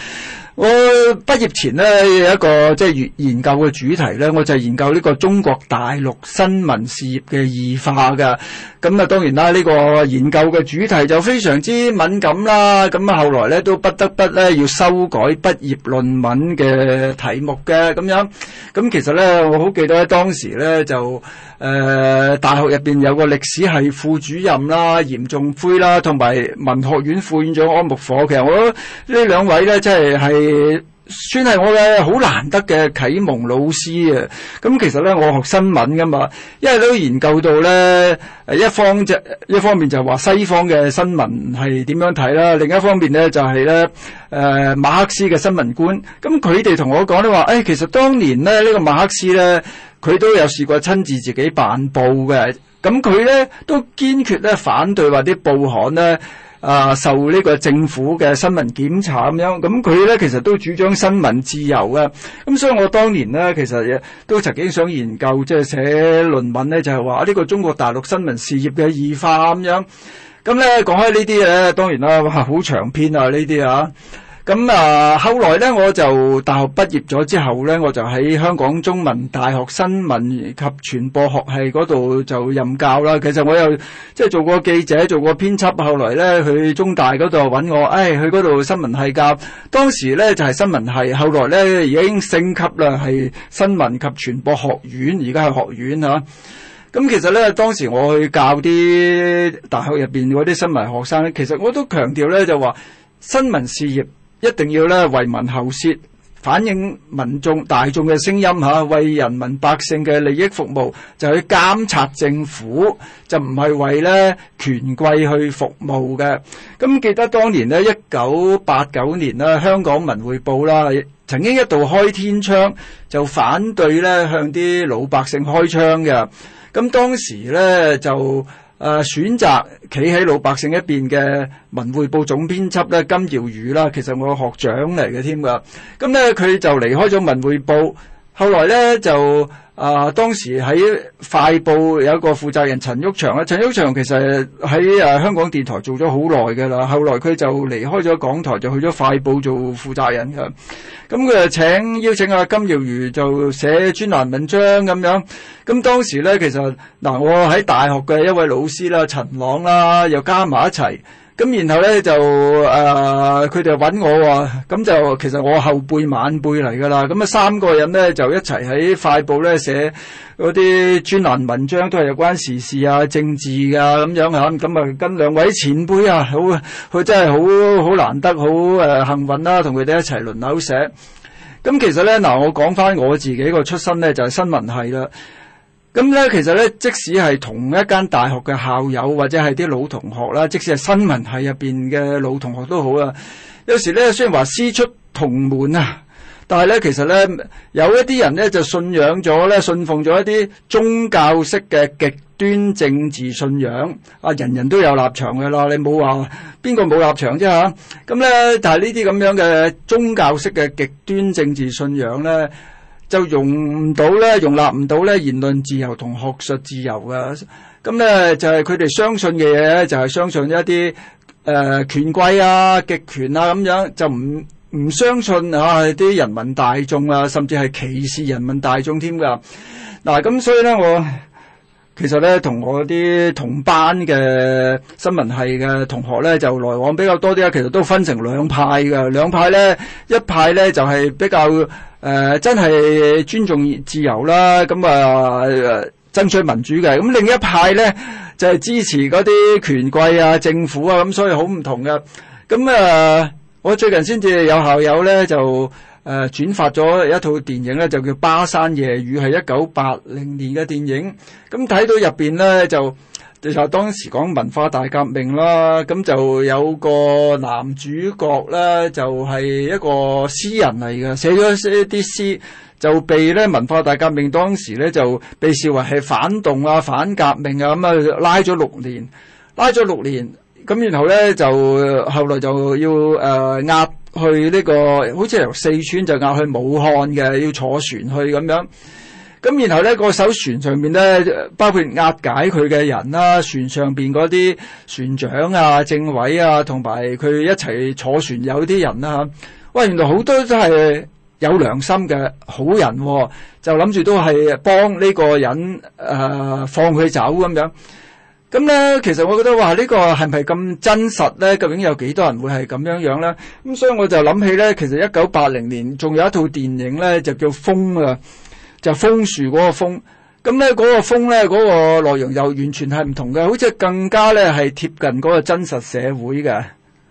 我畢業前咧有一個即係研究嘅主題咧，我就係研究呢個中國大陸新聞事業嘅異化㗎。咁啊，當然啦，呢個研究嘅主題就非常之敏感啦。咁啊，後來咧都不得不咧要修改畢業論文嘅題目嘅咁樣。咁其實咧，我好記得當時咧就誒、呃、大學入邊有個歷史系副主任啦，嚴仲輝啦，同埋文學院副院長安木火。其實我覺得呢兩位咧，真係係算係我嘅好難得嘅啟蒙老師啊！咁其實咧，我學新聞噶嘛，因為都研究到咧，誒一方就一方面就話西方嘅新聞係點樣睇啦，另一方面咧就係咧誒馬克思嘅新聞觀。咁佢哋同我講咧話，誒、哎、其實當年咧呢、呢個馬克思咧，佢都有試過親自自己辦報嘅。咁佢咧都堅決咧反對話啲報刊咧。啊，受呢個政府嘅新聞檢查咁樣，咁佢咧其實都主張新聞自由嘅，咁所以我當年咧其實都曾經想研究，即係寫論文咧，就係話呢個中國大陸新聞事業嘅異化咁樣。咁咧講開呢啲咧，當然啦，哇，好長篇啊呢啲啊。咁啊，後來咧我就大學畢業咗之後咧，我就喺香港中文大學新聞及傳播學系嗰度就任教啦。其實我又即係做過記者，做過編輯，後來咧去中大嗰度揾我，誒、哎、去嗰度新聞系教。當時咧就係、是、新聞系，後來咧已經升級啦，係新聞及傳播學院，而家係學院嚇。咁其實咧，當時我去教啲大學入邊嗰啲新聞學生咧，其實我都強調咧就話新聞事業一定要咧為民喉舌，反映民眾大眾嘅聲音嚇，為人民百姓嘅利益服務，就去監察政府，就唔係為咧權貴去服務嘅。咁記得當年咧，一九八九年啦，香港文匯報啦，曾經一度開天窗，就反對咧向啲老百姓開槍嘅。咁當時咧就。誒、呃、選擇企喺老百姓一邊嘅文匯報總編輯咧金耀宇啦，其實我學長嚟嘅添㗎。咁咧佢就離開咗文匯報，後來咧就啊、呃、當時喺快報有一個負責人陳毓祥啦，陳毓祥其實喺誒、呃、香港電台做咗好耐㗎啦，後來佢就離開咗港台，就去咗快報做負責人㗎。咁佢就請邀請阿金耀宇就寫專欄文章咁樣。咁當時咧，其實嗱，我喺大學嘅一位老師啦，陳朗啦，又加埋一齊。咁然後咧就誒，佢哋揾我喎。咁就其實我後輩晚輩嚟㗎啦。咁啊三個人咧就一齊喺快報咧寫嗰啲專欄文章，都係有關時事啊、政治啊咁樣嚇。咁啊跟兩位前輩啊，好佢真係好好難得，好誒幸運啦，同佢哋一齊輪流寫。咁其實咧嗱，我講翻我自己個出身咧就係新聞系啦。咁咧，其實咧，即使係同一間大學嘅校友或者係啲老同學啦，即使係新聞系入邊嘅老同學都好啦。有時咧，雖然話師出同門啊，但係咧，其實咧，有一啲人咧就信仰咗咧，信奉咗一啲宗教式嘅極端政治信仰。啊，人人都有立場㗎啦，你冇話邊個冇立場啫嚇。咁咧，但係呢啲咁樣嘅宗教式嘅極端政治信仰咧，就容唔到咧，容納唔到咧言論自由同學術自由嘅。咁咧就係佢哋相信嘅嘢，就係相信一啲誒、呃、權貴啊、極權啊咁樣，就唔唔相信啊啲人民大眾啊，甚至係歧視人民大眾添㗎。嗱，咁所以咧，我其實咧同我啲同班嘅新聞系嘅同學咧就來往比較多啲啊。其實都分成兩派㗎，兩派咧，一派咧就係、是、比較。誒、呃，真係尊重自由啦，咁啊，爭取民主嘅。咁另一派咧就係、是、支持嗰啲權貴啊、政府啊，咁所以好唔同嘅。咁啊，我最近先至有校友咧就誒、呃、轉發咗一套電影咧，就叫《巴山夜雨》，係一九八零年嘅電影。咁睇到入邊咧就。就當時講文化大革命啦，咁就有個男主角咧，就係、是、一個詩人嚟嘅，寫咗一啲詩，就被咧文化大革命當時咧就被視為係反動啊、反革命啊，咁啊拉咗六年，拉咗六年，咁然後咧就後來就要誒、呃、押去呢、這個，好似由四川就押去武漢嘅，要坐船去咁樣。咁然後咧，個艘船上面咧，包括押解佢嘅人啦，船上邊嗰啲船長啊、政委啊，同埋佢一齊坐船有啲人啦嚇。 喂，原來好多都係有良心嘅好人，哦，就諗住都係幫呢個人誒、呃、放佢走咁樣。咁咧，其實我覺得話呢個係咪咁真實咧？究竟有幾多人會係咁樣樣咧？咁所以我就諗起咧，其實一九八零年仲有一套電影咧，就叫《楓》啊，就楓樹嗰個楓。咁咧嗰個楓咧，嗰個內容又完全係唔同嘅，好似更加咧係貼近嗰個真實社會嘅。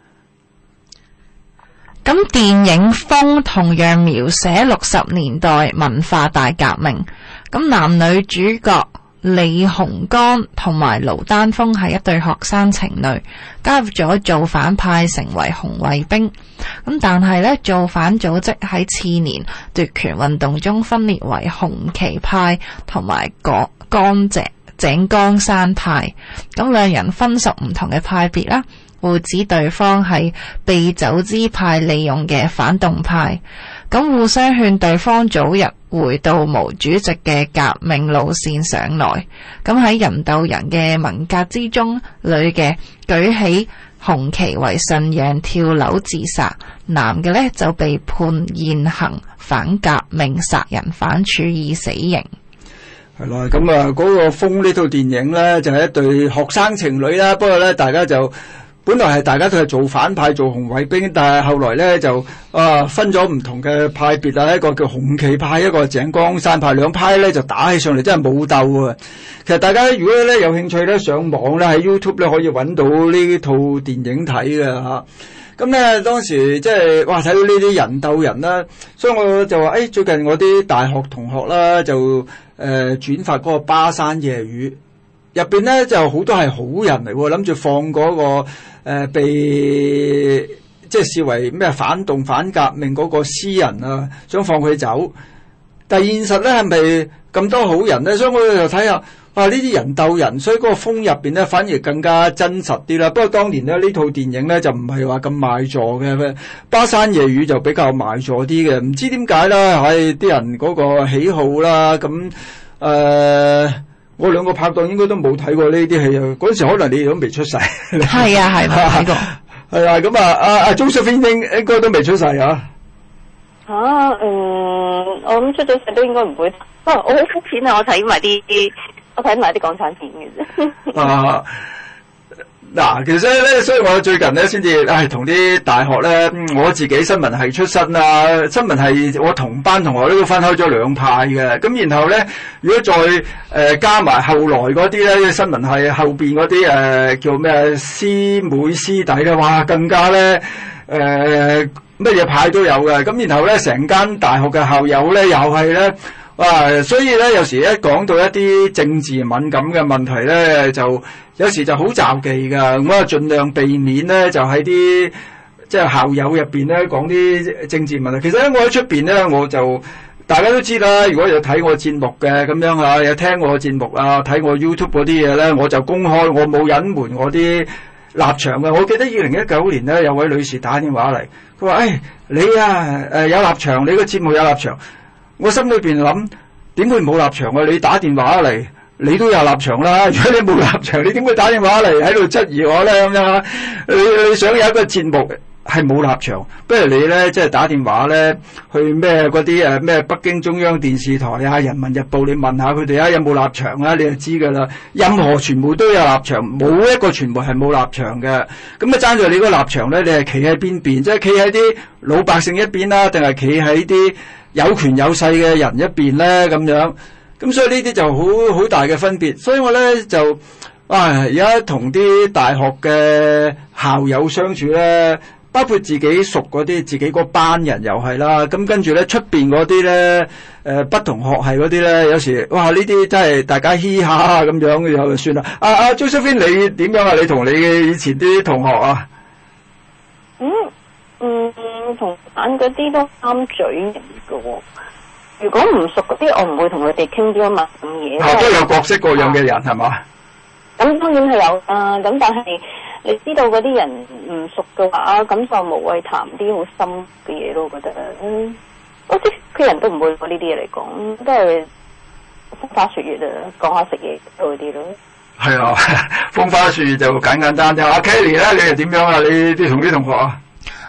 咁電影《楓》同樣描寫六十年代文化大革命。咁男女主角李鴻剛同埋盧丹峰係一對學生情侶，加入咗造反派，成為紅衛兵。咁但係呢，造反組織喺次年奪權運動中分裂為紅旗派同埋江井井岡山派。咁兩人分屬唔同嘅派別啦，互指對方係被走資派利用嘅反動派。咁互相勸對方早日回到毛主席嘅革命路線上來。咁喺人鬥人嘅文革之中，女嘅舉起紅旗為信仰，跳樓自殺，男嘅呢就被判現行反革命殺人犯，處以死刑。 係啦，咁啊嗰個《楓》呢套電影呢，就係、是、一對學生情侶啦。不過呢，大家就本來係大家都係做反派做紅衛兵，但係後來咧就啊分咗唔同嘅派別啊，一個叫紅旗派，一個井岡山派，兩派咧就打起上嚟，真係武鬥啊！其實大家如果咧有興趣咧上網咧喺 YouTube 咧可以揾到呢套電影睇嘅吓。咁咧當時即係哇睇到呢啲人鬥人啦，所以我就話誒、哎、最近我啲大學同學啦就誒、呃、轉發嗰個巴山夜雨。入邊咧就好多係好人嚟，諗住放嗰、那個誒、呃、被即係視為咩反動反革命嗰個詩人啊，想放佢走。但係現實咧係咪咁多好人咧？所以我就睇下，哇呢啲人鬥人，所以嗰個楓入邊咧反而更加真實啲啦。不過當年咧呢套電影咧就唔係話咁賣座嘅，巴山夜雨就比較賣座啲嘅。唔知點解啦，係啲人嗰個喜好啦，咁誒。呃我兩個拍檔應該都冇睇過呢啲戲啊！嗰陣時可能你哋都未出世。 係啊，係冇睇過。 係啊，咁啊，阿阿 Josephine 應應該都未出世啊。 啊，嗯，我諗出咗世都應該唔會。不過我好膚淺啊！我睇埋啲，我睇埋啲港產片嘅啫。啊。 嗱、啊，其實咧，所以我最近咧先至，唉，同啲大學咧，我自己新聞系出身啊，新聞系我同班同學都分開咗兩派嘅。咁然後咧，如果再誒、呃、加埋後來嗰啲咧，新聞系後邊嗰啲誒叫咩師妹師弟咧，哇，更加咧誒乜嘢派都有嘅。咁然後咧，成間大學嘅校友咧，又係咧。啊，所以咧，有時一講到一啲政治敏感嘅問題咧，就有時就好罩忌噶。咁啊，盡量避免咧，就喺啲即係校友入邊咧講啲政治問題。其實咧，我喺出邊咧，我就大家都知啦。如果有睇我節目嘅咁樣啊，有聽我節目啊，睇我 YouTube 嗰啲嘢咧，我就公開，我冇隱瞞我啲立場嘅。我記得二零一九年咧，有位女士打電話嚟，佢話：誒、哎，你啊，誒有立場，你個節目有立場。我心裏邊諗，點會冇立場啊？你打電話嚟，你都有立場啦。如果你冇立場，你點會打電話嚟喺度質疑我咧？咁樣，你你想有一個節目係冇立場，不如你咧即係打電話咧去咩嗰啲誒咩北京中央電視台啊、人民日報，你問下佢哋啊有冇立場啊？你就知噶啦。任何傳媒都有立場，冇一個傳媒係冇立場嘅。咁啊爭在你個立場咧，你係企喺邊邊？即係企喺啲老百姓一邊啦，定係企喺啲有權有勢嘅人一邊咧？咁樣，咁所以呢啲就好好大嘅分別。所以我咧就啊而家同啲大學嘅校友相處咧，包括自己熟嗰啲，自己嗰班人又係啦。咁跟住咧出邊嗰啲咧，誒、呃、不同學系嗰啲咧，有時哇呢啲真係大家嘻下咁樣就算啦。阿阿 Josephine 你點樣啊？你同你以前啲同學啊？ 嗯嗯，同班嗰啲都啱嘴型嘅喎。如果唔熟嗰啲，我唔會同佢哋傾啲咁嘅嘢。 啊，都有各式各樣嘅人係嘛？ 咁當然係有啊，咁但係你知道嗰啲人唔熟嘅話，咁就無謂談啲好深嘅嘢咯。我覺得，嗯，我知佢人都唔會攞呢啲嘢嚟講，都係風花雪月啊，講下食嘢嗰啲咯。 係啊，風花雪月就簡簡單單。阿 Kelly 咧，你係點樣啊？你啲同啲同學啊？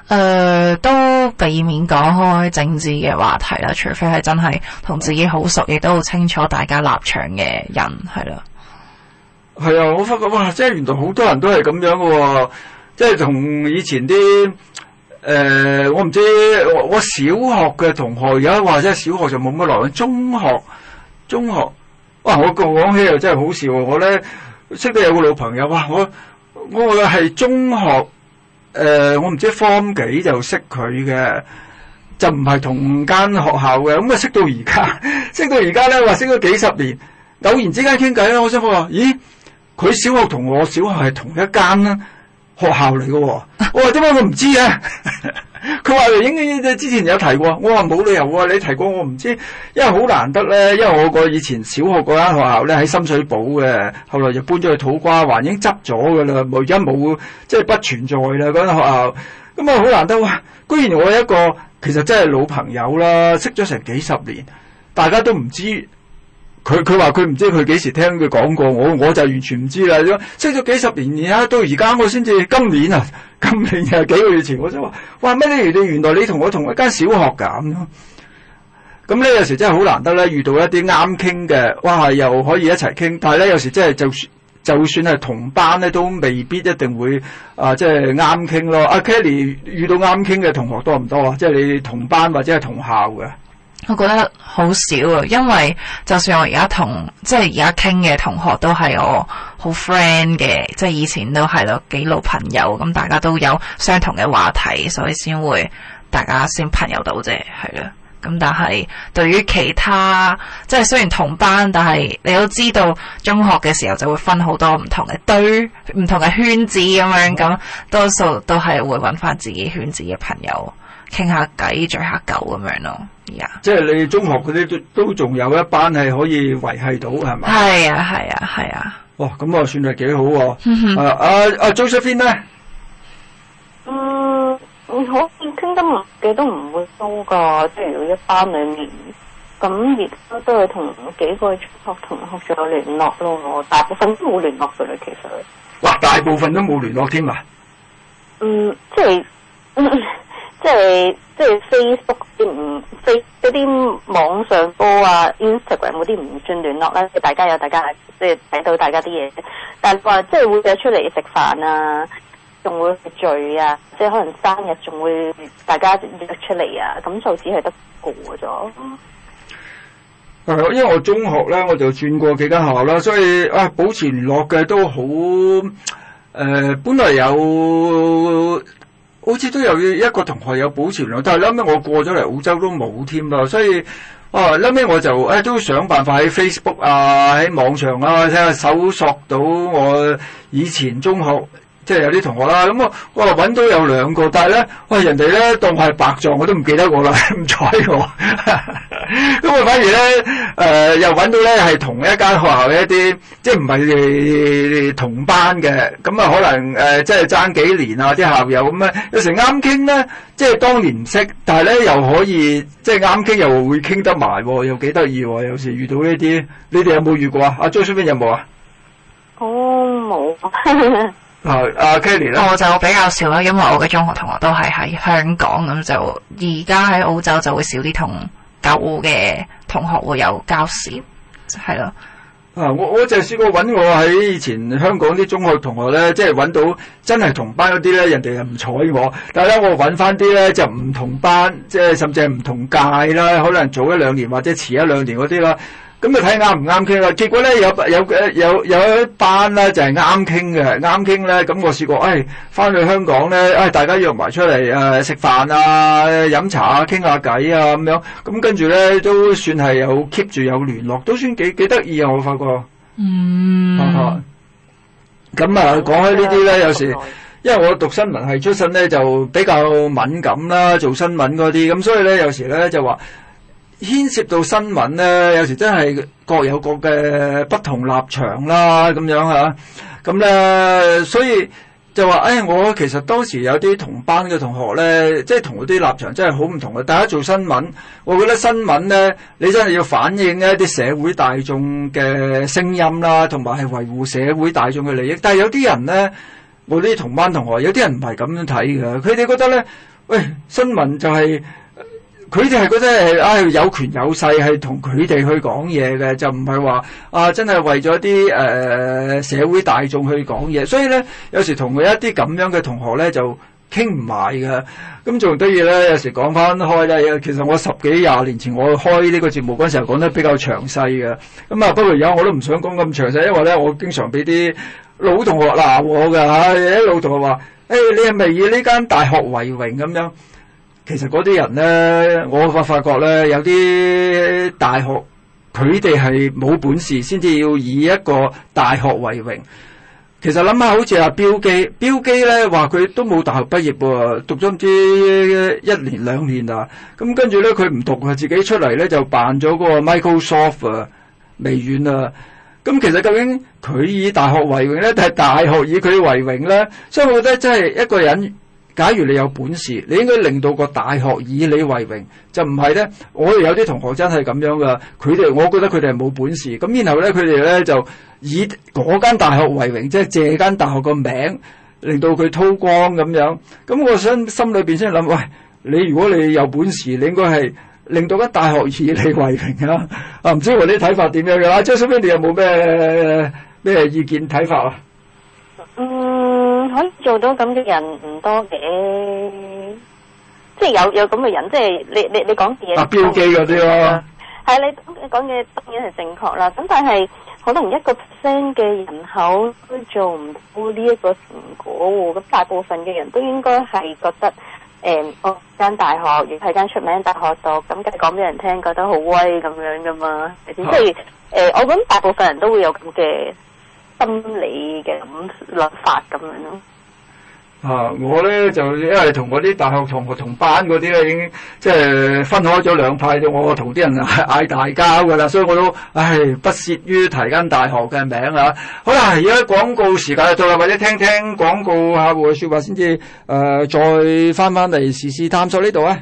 誒，都避免講開政治嘅話題啦，除非係真係同自己好熟，亦都好清楚大家立場嘅人，係咯。 係啊，我發覺哇，即係原來好多人都係咁樣嘅喎，即係同以前啲誒、呃，我唔知我，我小學嘅同學，而家話即係小學就冇乜來往，中學中學，哇！我講起又真係好笑喎，我咧識得有個老朋友，哇！我我係中學。誒、呃，我唔知 form 幾就識佢嘅，就唔係同間學校嘅，咁啊識到而家，識到而家咧話識咗幾十年，偶然之間傾偈啦，我想話，咦，佢小學同我小學係同一間啦學校嚟嘅，我話點解我唔知啊？佢話應該之前有提過，我話冇理由啊，你提過我唔知，因為好難得咧，因為我個以前小學嗰間學校咧喺深水埗嘅，後來就搬咗去土瓜灣，已經執咗㗎啦，而家冇即係不存在啦嗰間學校，咁啊好難得哇！居然我一個其實真係老朋友啦，識咗成幾十年，大家都唔知。佢佢話佢唔知佢幾時聽佢講過，我我就完全唔知啦。識咗幾十年，而家到而家我先至今年啊，今年又幾個月前我就話，哇咩你你原來你同我同一間小學㗎咁咯。咁咧有時真係好難得咧，遇到一啲啱傾嘅，哇又可以一齊傾。但係咧有時真係就算就算係同班咧，都未必一定會啊即係啱傾咯。阿 Kelly 遇到啱傾嘅同學多唔多啊？即係你同班或者係同校嘅？ 我覺得好少啊，因為就算我而家同即係而家傾嘅同學都係我好 friend 嘅，即係以前都係咯幾老朋友，咁大家都有相同嘅話題，所以先會大家先朋友到啫，係咯。咁但係對於其他即係雖然同班，但係你都知道中學嘅時候就會分好多唔同嘅堆、唔同嘅圈子咁樣，咁多數都係會揾翻自己圈子嘅朋友傾下偈、聚下舊咁樣咯。Yeah. 即係你中學嗰啲都都仲有一班係可以維繫到係咪？ 係啊係啊係啊！ 哇，咁啊算係幾好喎！啊啊啊 Josephine 咧， 嗯，好似傾得唔幾都唔會多噶，即係如果一班裡面，咁而家都係同幾個中學同學仲有聯絡咯，大部分都冇聯絡噶啦，其實。 哇，大部分都冇聯絡添啊！ 嗯，即係。嗯即係即係 Facebook 啲唔 Face 嗰啲網上波啊 Instagram 嗰啲唔算聯絡啦，即係大家有大家即係睇到大家啲嘢，但係話即係會約出嚟食飯啊，仲會聚啊，即係可能生日仲會大家約出嚟啊，咁就只係得個咗。 誒，因為我中學咧我就轉過幾間學校啦，所以啊保持聯絡嘅都好誒、呃，本來有。好似都有一個同學有保持聯絡，但係後尾我過咗嚟澳洲都冇添啦，所以啊後尾我就誒、哎、都想辦法喺 Facebook 啊喺網上啊睇下搜索到我以前中學即係有啲同學啦，咁我我話揾到有兩個，但係咧哇人哋咧當我係白撞，我都唔記得我啦，唔睬我。咁我反而咧誒、呃、又揾到咧係同一間學校嘅一啲即係唔係同班嘅，咁啊可能誒、呃、即係爭幾年啊啲校友咁啊，有時啱傾咧，即係當年唔識，但係咧又可以即係啱傾又會傾得埋，又幾得意喎！有時遇到呢啲，你哋有冇遇過啊？阿 Josephine 有冇啊？ 哦，冇。 啊，阿 Kelly 咧， 我就比較少啦，因為我嘅中學同學都係喺香港，咁就而家喺澳洲就會少啲同舊嘅同學會有交涉，係咯。 啊，我我就試過揾我喺以前香港啲中學同學咧，即係揾到真係同班嗰啲咧，人哋又唔睬我，但係咧我揾翻啲咧就唔同班，即係甚至係唔同屆啦，可能早一兩年或者遲一兩年嗰啲啦。咁啊睇啱唔啱傾啦，結果咧有有有有一班咧就係啱傾嘅，啱傾咧咁我試過，誒翻去香港咧，誒大家約埋出嚟誒食飯啊、飲茶啊、傾下偈啊咁樣，咁跟住咧都算係有 keep 住有聯絡，都算幾幾得意啊！我發覺， 嗯， 咁啊講開呢啲咧，有時因為我讀新聞系出身咧，就比較敏感啦，做新聞嗰啲，咁所以咧有時咧就話。牽涉到新聞咧，有時真係各有各嘅不同立場啦，咁樣嚇。咁咧，所以就話，誒、哎，我其實當時有啲同班嘅同學咧，即係同嗰啲立場真係好唔同嘅。大家做新聞，我覺得新聞咧，你真係要反映一啲社會大眾嘅聲音啦，同埋係維護社會大眾嘅利益。但係有啲人咧，我啲同班同學，有啲人唔係咁樣睇嘅，佢哋覺得咧。 喂，新聞就係佢哋係覺得係啊有權有勢係同佢哋去講嘢嘅，就唔係話啊真係為咗啲誒社會大眾去講嘢。所以咧，有時同佢一啲咁樣嘅同學咧就傾唔埋㗎。咁仲得意咧，有時講翻開咧，其實我十幾廿年前我開呢個節目嗰陣時候講得比較詳細嘅。咁啊，不過而家我都唔想講咁詳細，因為咧我經常俾啲老同學鬧我㗎嚇，啲老同學話：誒、哎、你係咪以呢間大學為榮咁樣？其實嗰啲人咧，我發發覺咧，有啲大學佢哋係冇本事，先至要以一個大學為榮。其實諗下，好似阿標基，標基咧話佢都冇大學畢業喎，讀咗唔知一年兩年啦。咁跟住咧，佢唔讀啊，自己出嚟咧就辦咗嗰個 Microsoft 啊，微軟啊。咁其實究竟佢以大學為榮咧，定係大學以佢為榮咧？所以我覺得真係一個人。假如你有本事，你應該令到個大學以你為榮，就唔係咧。我哋有啲同學真係咁樣噶，佢哋我覺得佢哋係冇本事，咁然後咧佢哋咧就以嗰間大學為榮，即係借間大學個名，令到佢韜光咁樣。咁我想心裏邊先諗，喂，你如果你有本事，你應該係令到間大學以你為榮啊！啊，唔知我啲睇法點樣嘅？阿張小芬，你有冇咩咩意見睇法啊？ 嗯，可以做到咁嘅人唔多嘅，即係有有咁嘅人，即係你你你講嘢。啊，標記嗰啲咯。係你你講嘢當然係正確啦，咁但係可能一個 percent 嘅人口都做唔到呢一個成果喎，咁大部分嘅人都應該係覺得誒，我、嗯、間大學亦係間出名大學度，咁梗係講俾人聽，覺得好威咁樣噶嘛，係先？即係誒，我諗大部分人都會有咁嘅心理嘅諗法咁樣咯。 啊，我咧就因為同嗰啲大學同學同班嗰啲咧，已經即係分開咗兩派，我同啲人嗌大交噶啦，所以我都唉不屑於提間大學嘅名啊。好啦，而家廣告時間到啦，或者聽聽廣告客戶嘅說話先至誒，再翻翻嚟時事探索呢度啊。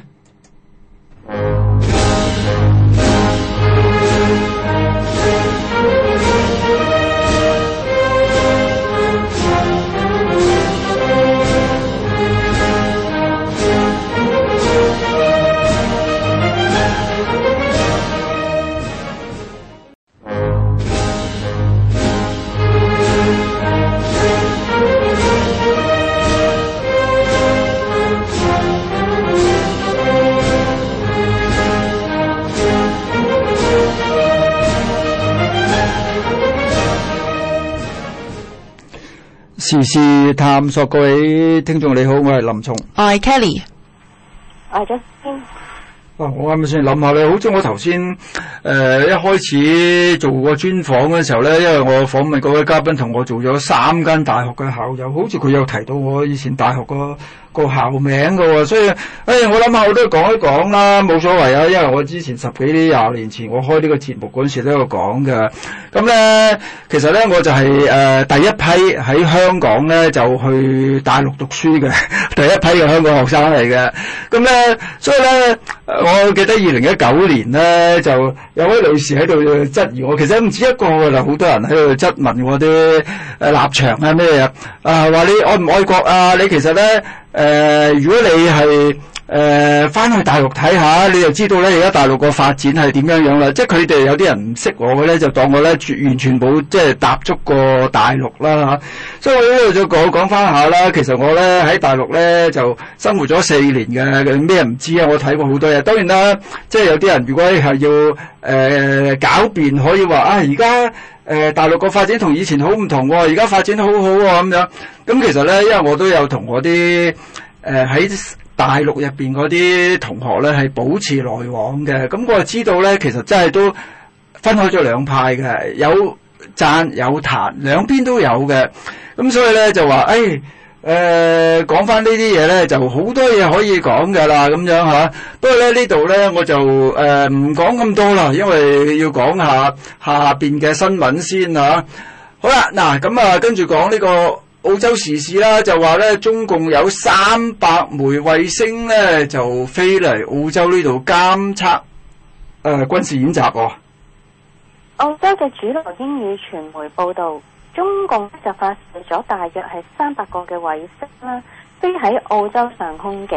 時事探索，各位聽眾你好，我係林松， 我係 Kelly， 我係 Justin。 啊，我啱啱先諗下咧，好似我頭先誒一開始做個專訪嘅時候咧，因為我訪問嗰位嘉賓同我做咗三間大學嘅校友，好似佢有提到我以前大學個個校名㗎喎，所以誒、哎、我諗下我都講一講啦，冇所謂啊，因為我之前十幾廿年前我開呢個節目嗰陣時都有講嘅。咁咧其實咧我就係、是、誒、呃、第一批喺香港咧就去大陸讀書嘅第一批嘅香港學生嚟嘅。咁咧所以咧我記得二零一九年咧就有位女士喺度質疑我，其實唔止一個㗎啦，好多人喺度質問我啲誒立場啊咩嘢啊，話你愛唔愛國啊？你其實咧誒、呃，如果你係誒翻去大陸睇下，你就知道咧而家大陸個發展係點樣樣啦。即係佢哋有啲人唔識我嘅咧，就當我咧完全冇即係踏足過大陸啦嚇。所以我呢度再講講翻下啦。其實我咧喺大陸咧就生活咗四年嘅，咩唔知啊？我睇過好多嘢。當然啦，即係有啲人如果係要誒、呃、狡辯，可以話啊而家誒大陸個發展同以前好唔同喎，而家發展好好喎咁樣。咁其實咧，因為我都有同我啲誒喺大陸入邊嗰啲同學咧係保持來往嘅，咁我就知道咧，其實真係都分開咗兩派嘅，有讚有彈，兩邊都有嘅。咁所以咧就話誒誒講翻呢啲嘢咧，就好多嘢可以講㗎啦，咁樣嚇。不過咧呢度咧我就誒唔講咁多啦，因為要講下下邊嘅新聞先嚇。好啦，嗱咁啊，跟住講呢個澳洲時事啦，就話咧中共有三百枚衛星咧就飛嚟澳洲呢度監測誒、呃、軍事演習喎、哦。 澳洲嘅主流英語傳媒報道，中共就發射咗大約係三百個嘅衛星啦，飛喺澳洲上空嘅，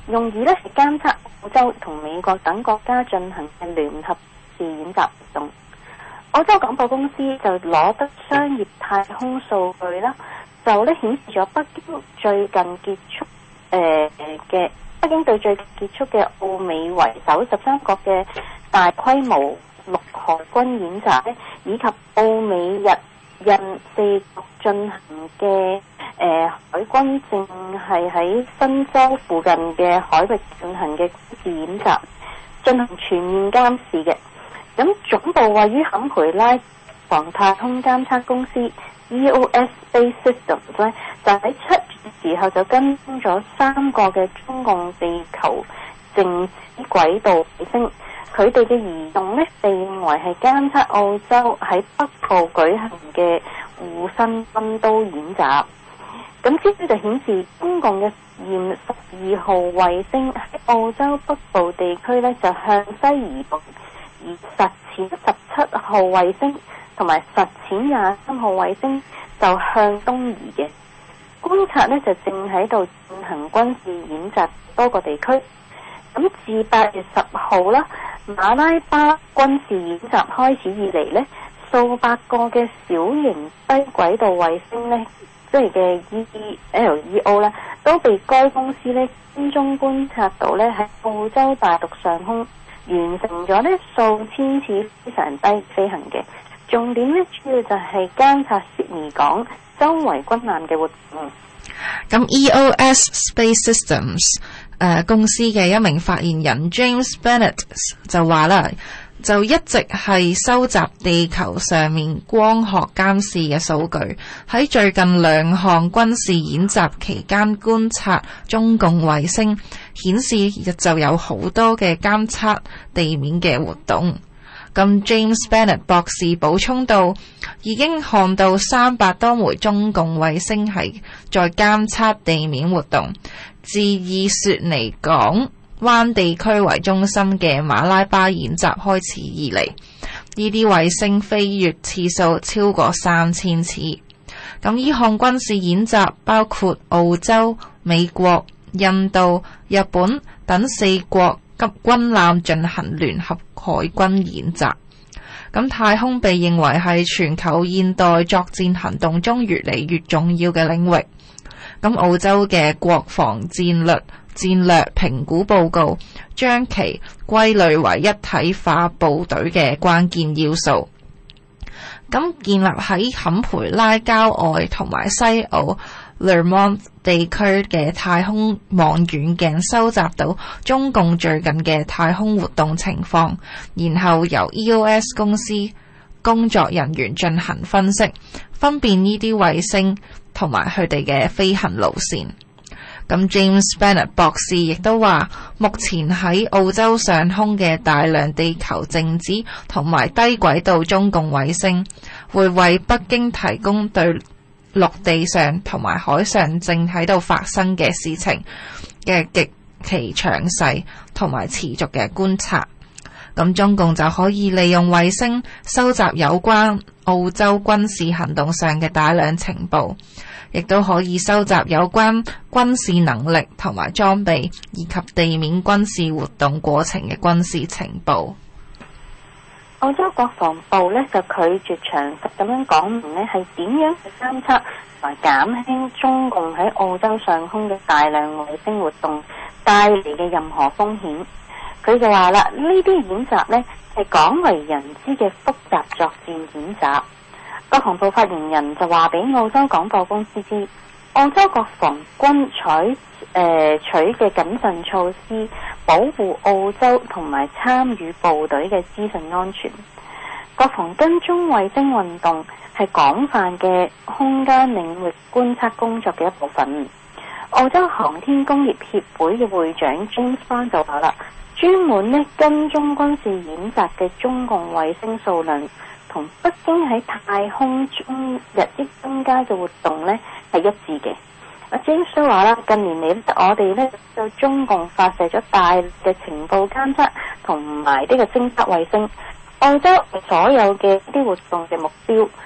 用以咧係監測澳洲同美國等國家進行嘅聯合試演習活動。澳洲廣播公司就攞得商業太空數據啦，就咧顯示咗北京最近結束誒嘅、呃、北京對最近結束嘅澳美為首十三國嘅大規模陸海軍演習咧，以及澳美日印四國進行嘅誒、呃、海軍正係喺新州附近嘅海域進行嘅軍事演習，進行全面監視嘅。咁總部位於坎培拉防太空監測公司 E O S Space Systems 咧，就喺七月嘅時候就跟蹤咗三個嘅中共地球靜止軌道衛星。佢哋嘅移動咧，被認為係監測澳洲喺北部舉行嘅護身軍刀演習。咁資料就顯示，中共嘅實驗十二號衛星喺澳洲北部地區咧，就向西移動，而實踐十七號衛星同埋實踐廿三號衛星就向東移嘅。觀察咧就正喺度進行軍事演習多個地區。咁自八月十號啦，馬拉巴軍事演習開始以嚟呢，數百個嘅小型低軌道衛星呢，即係嘅 E L E O 啦，都被該公司呢跟蹤觀察到呢喺澳洲大陸上空完成咗呢數千次非常低飛行嘅。重點呢，主要就係監察悉尼港周圍軍艦嘅活動。 咁 E O S Space Systems 誒、呃、公司嘅一名發言人 James Bennett 就話啦，就一直係收集地球上面光學監視嘅數據，喺最近兩項軍事演習期間觀察中共衛星，顯示就有好多嘅監測地面嘅活動。咁 James Bennett 博士補充到，已經看到三百多枚中共衛星係在監測地面活動。自以雪梨港灣地區為中心嘅馬拉巴演習開始以嚟，呢啲衛星飛越次數超過三千次。咁呢項軍事演習包括澳洲、美國、印度、日本等四國及軍艦進行聯合海軍演習。咁太空被認為係全球現代作戰行動中越嚟越重要嘅領域。咁澳洲嘅國防戰略戰略評估報告將其歸類為一體化部隊嘅關鍵要素。咁建立喺坎培拉郊外同埋西澳 Lermont 地區嘅太空望遠鏡收集到中共最近嘅太空活動情況，然後由 E O S 公司工作人員進行分析，分辨呢啲衛星同埋佢哋嘅飛行路線。咁 James Bennett 博士亦都話，目前喺澳洲上空嘅大量地球靜止同埋低軌道中共衛星，會為北京提供對陸地上同埋海上正喺度發生嘅事情嘅極其詳細同埋持續嘅觀察。咁中共就可以利用衛星收集有關澳洲軍事行動上嘅大量情報，亦都可以收集有關軍事能力同埋裝備以及地面軍事活動過程嘅軍事情報。 澳洲國防部呢就拒絕詳細咁樣講明呢係點樣去監測同埋減輕中共喺澳洲上空嘅大量衛星活動帶嚟嘅任何風險。佢就話啦，呢啲演習呢係廣為人知嘅複雜作戰演習。國防部發言人就話俾澳洲廣播公司知，澳洲國防軍採誒取嘅謹慎措施，保護澳洲同埋參與部隊嘅資訊安全。國防跟蹤衛星運動係廣泛嘅空間領域觀測工作嘅一部分。澳洲航天工業協會嘅會長 James Bond 就話啦，專門呢跟蹤軍事演習嘅中共衛星數量同北京喺太空中日益增加嘅活動呢係一致嘅。阿 James 都話啦，近年嚟我哋呢對中共發射咗大量嘅情報監測同埋呢個偵測衛星，澳洲所有嘅啲活動嘅目標，太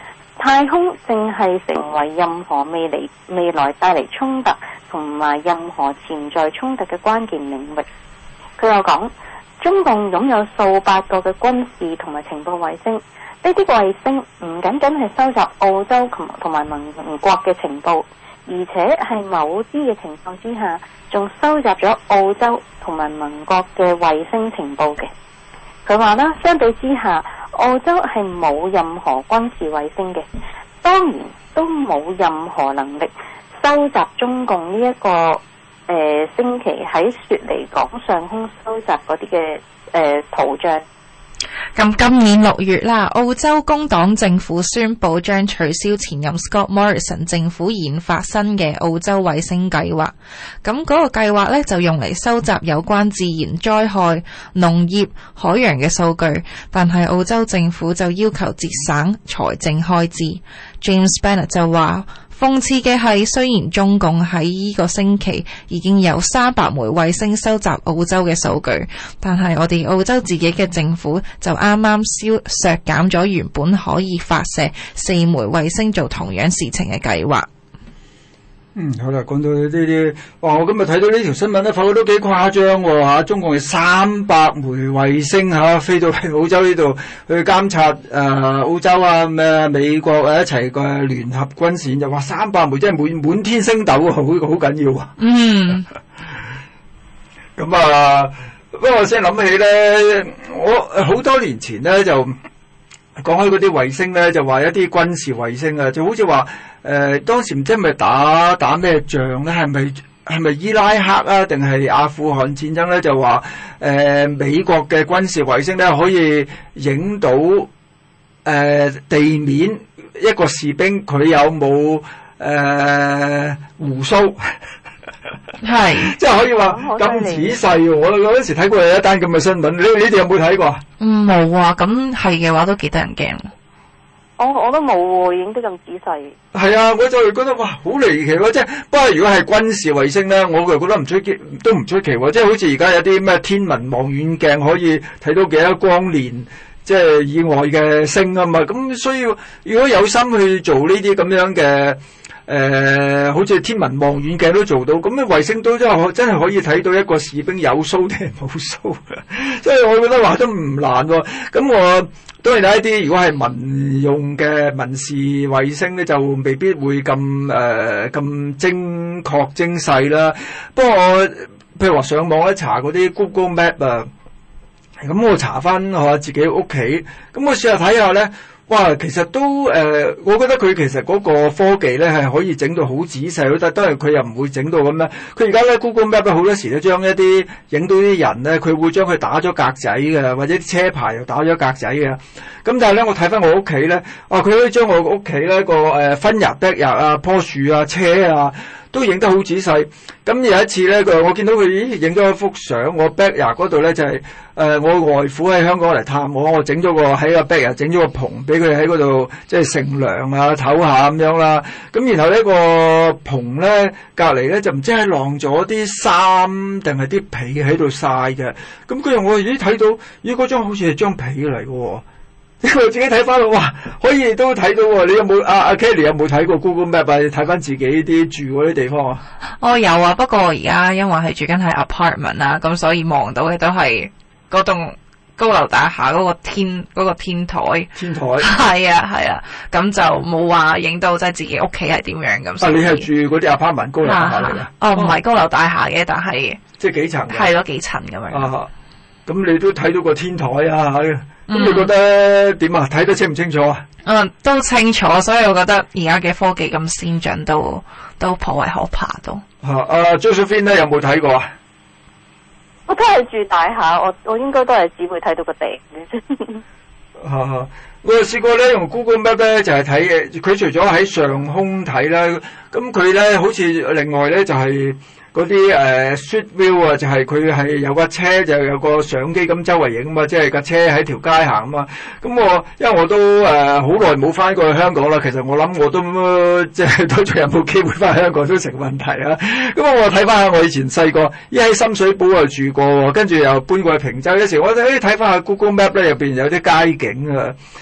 太空正係成為任何未來未來帶嚟衝突同埋任何潛在衝突嘅關鍵領域。佢又講，中共擁有數百個嘅軍事同埋情報衛星，呢啲衛星唔僅僅係收集澳洲同同埋盟國嘅情報，而且係某啲嘅情況之下，仲收集咗澳洲同埋盟國嘅衛星情報嘅。佢話啦，相比之下，澳洲係冇任何軍事衛星嘅，當然都冇任何能力收集中共呢、這、一個誒、呃、星期喺雪梨港上空收集嗰啲嘅誒圖像。 咁今年六月啦，澳洲工黨政府宣布將取消前任 Scott Morrison 政府研發新嘅澳洲衛星計劃。咁嗰個計劃呢，就用嚟收集有關自然災害、農業、海洋嘅數據，但係澳洲政府就要求節省財政開支。James Bennett 就話，諷刺嘅係，雖然中共喺呢個星期已經有三百枚衛星收集澳洲嘅數據，但係我哋澳洲自己嘅政府就啱啱消削減咗原本可以發射四枚衛星做同樣事情嘅計劃。 嗯，好啦，講到呢啲，哇！我今日睇到呢條新聞咧，發覺都幾誇張喎嚇，中共係三百枚衛星嚇、啊、飛到嚟澳洲呢度去監察誒、呃、澳洲啊咩美國啊一齊嘅聯合軍事，就話三百枚真係滿滿天星斗啊，好好緊要啊！ 嗯， 咁啊，不過我先諗起咧，我好多年前咧就講開嗰啲衛星咧，就話一啲軍事衛星啊，就好似話。誒、呃、當時唔知係咪打打咩仗咧？係咪係咪伊拉克啊？定係阿富汗戰爭咧？就話誒、呃、美國嘅軍事衛星咧可以影到誒、呃、地面一個士兵佢有冇誒、呃、鬍鬚？係即係可以話咁仔細喎！我嗰陣時睇過有一單咁嘅新聞，你你哋有冇睇過？ 嗯，冇啊！咁係嘅話都幾得人驚。 我我都冇喎，影得咁仔細。 係啊，我就係覺得哇，好離奇喎！即係不過如果係軍事衛星咧，我就覺得唔出奇，都唔出奇喎。即係好似而家有啲咩天文望遠鏡可以睇到幾多光年，即係以外嘅星啊嘛。咁所以如果有心去做呢啲咁樣嘅。誒、呃，好似天文望遠鏡都做到，咁嘅衛星都真係真係可以睇到一個士兵有鬚定係冇鬚嘅，即係我覺得話都唔難喎。咁我當然有一啲如果係民用嘅民事衛星咧，就未必會咁誒咁精確精細啦。不過我譬如話上網咧查嗰啲 Google Map 啊，咁我查翻我自己屋企，咁我試下睇下咧。哇，其實都誒、呃，我覺得佢其實嗰個科技咧係可以整到好仔細，但係佢又唔會整到咁樣。佢而家咧 Google Map 好多時都將一啲影到啲人咧，佢會將佢打咗格仔嘅，或者啲車牌又打咗格仔嘅。咁但係咧，我睇翻我屋企咧，啊，佢可以將我屋企咧個誒分日、得日啊、棵樹啊、車啊，都影得好仔細。咁有一次咧，佢我見到佢咦影咗一幅相，我 backyard 嗰度咧就係、是、誒、呃、我外父喺香港嚟探我，我整咗個喺個 backyard 整咗個棚俾佢喺嗰度即係乘涼啊唞下咁樣啦。咁然後呢個棚咧隔離咧就唔知係晾咗啲衫定係啲被喺度曬嘅。咁佢又我咦睇到咦嗰張好似係張被嚟嘅。我自己睇翻，哇，可以都睇到喎！你有冇阿阿 Kelly 有冇睇過 Google Map 啊？睇翻自己啲住嗰啲地方啊？ 我有啊，不過而家因為係住緊喺 apartment 啊，咁所以望到嘅都係嗰棟高樓大廈嗰個天嗰、嗰個天台。天台係啊係啊，咁就冇話影到即係自己屋企係點樣咁。啊， 你係住嗰啲 apartment 高樓大廈嚟㗎？ 哦，唔係高樓大廈嘅，但係即係幾層？ 係咯，幾層咁樣。 啊，咁你都睇到個天台啊？咁、嗯、你覺得點啊？睇得清唔清楚啊？ 嗯，都清楚，所以我覺得而家嘅科技咁先進，都都頗為可怕都。 嚇、啊！阿 Josephine 咧有冇睇過啊？ 我都係住大廈，我我應該都係只會睇到個頂嘅啫。 嚇！我又試過咧用 Google Map 咧就係睇嘅，佢除咗喺上空睇啦，咁佢咧好似另外咧就係、是。嗰啲誒 street view 啊，就係佢係有架車就有個相機咁周圍影啊嘛，即係架車喺條街行啊嘛。咁我因為我都誒好耐冇翻過去香港啦，其實我諗我都、呃、即係都仲有冇機會翻香港都成問題啊。咁我睇翻下我以前細個，一喺深水埗又住過，跟住又搬過去坪洲。有時我誒睇翻下 Google Map 咧，入邊有啲街景啊。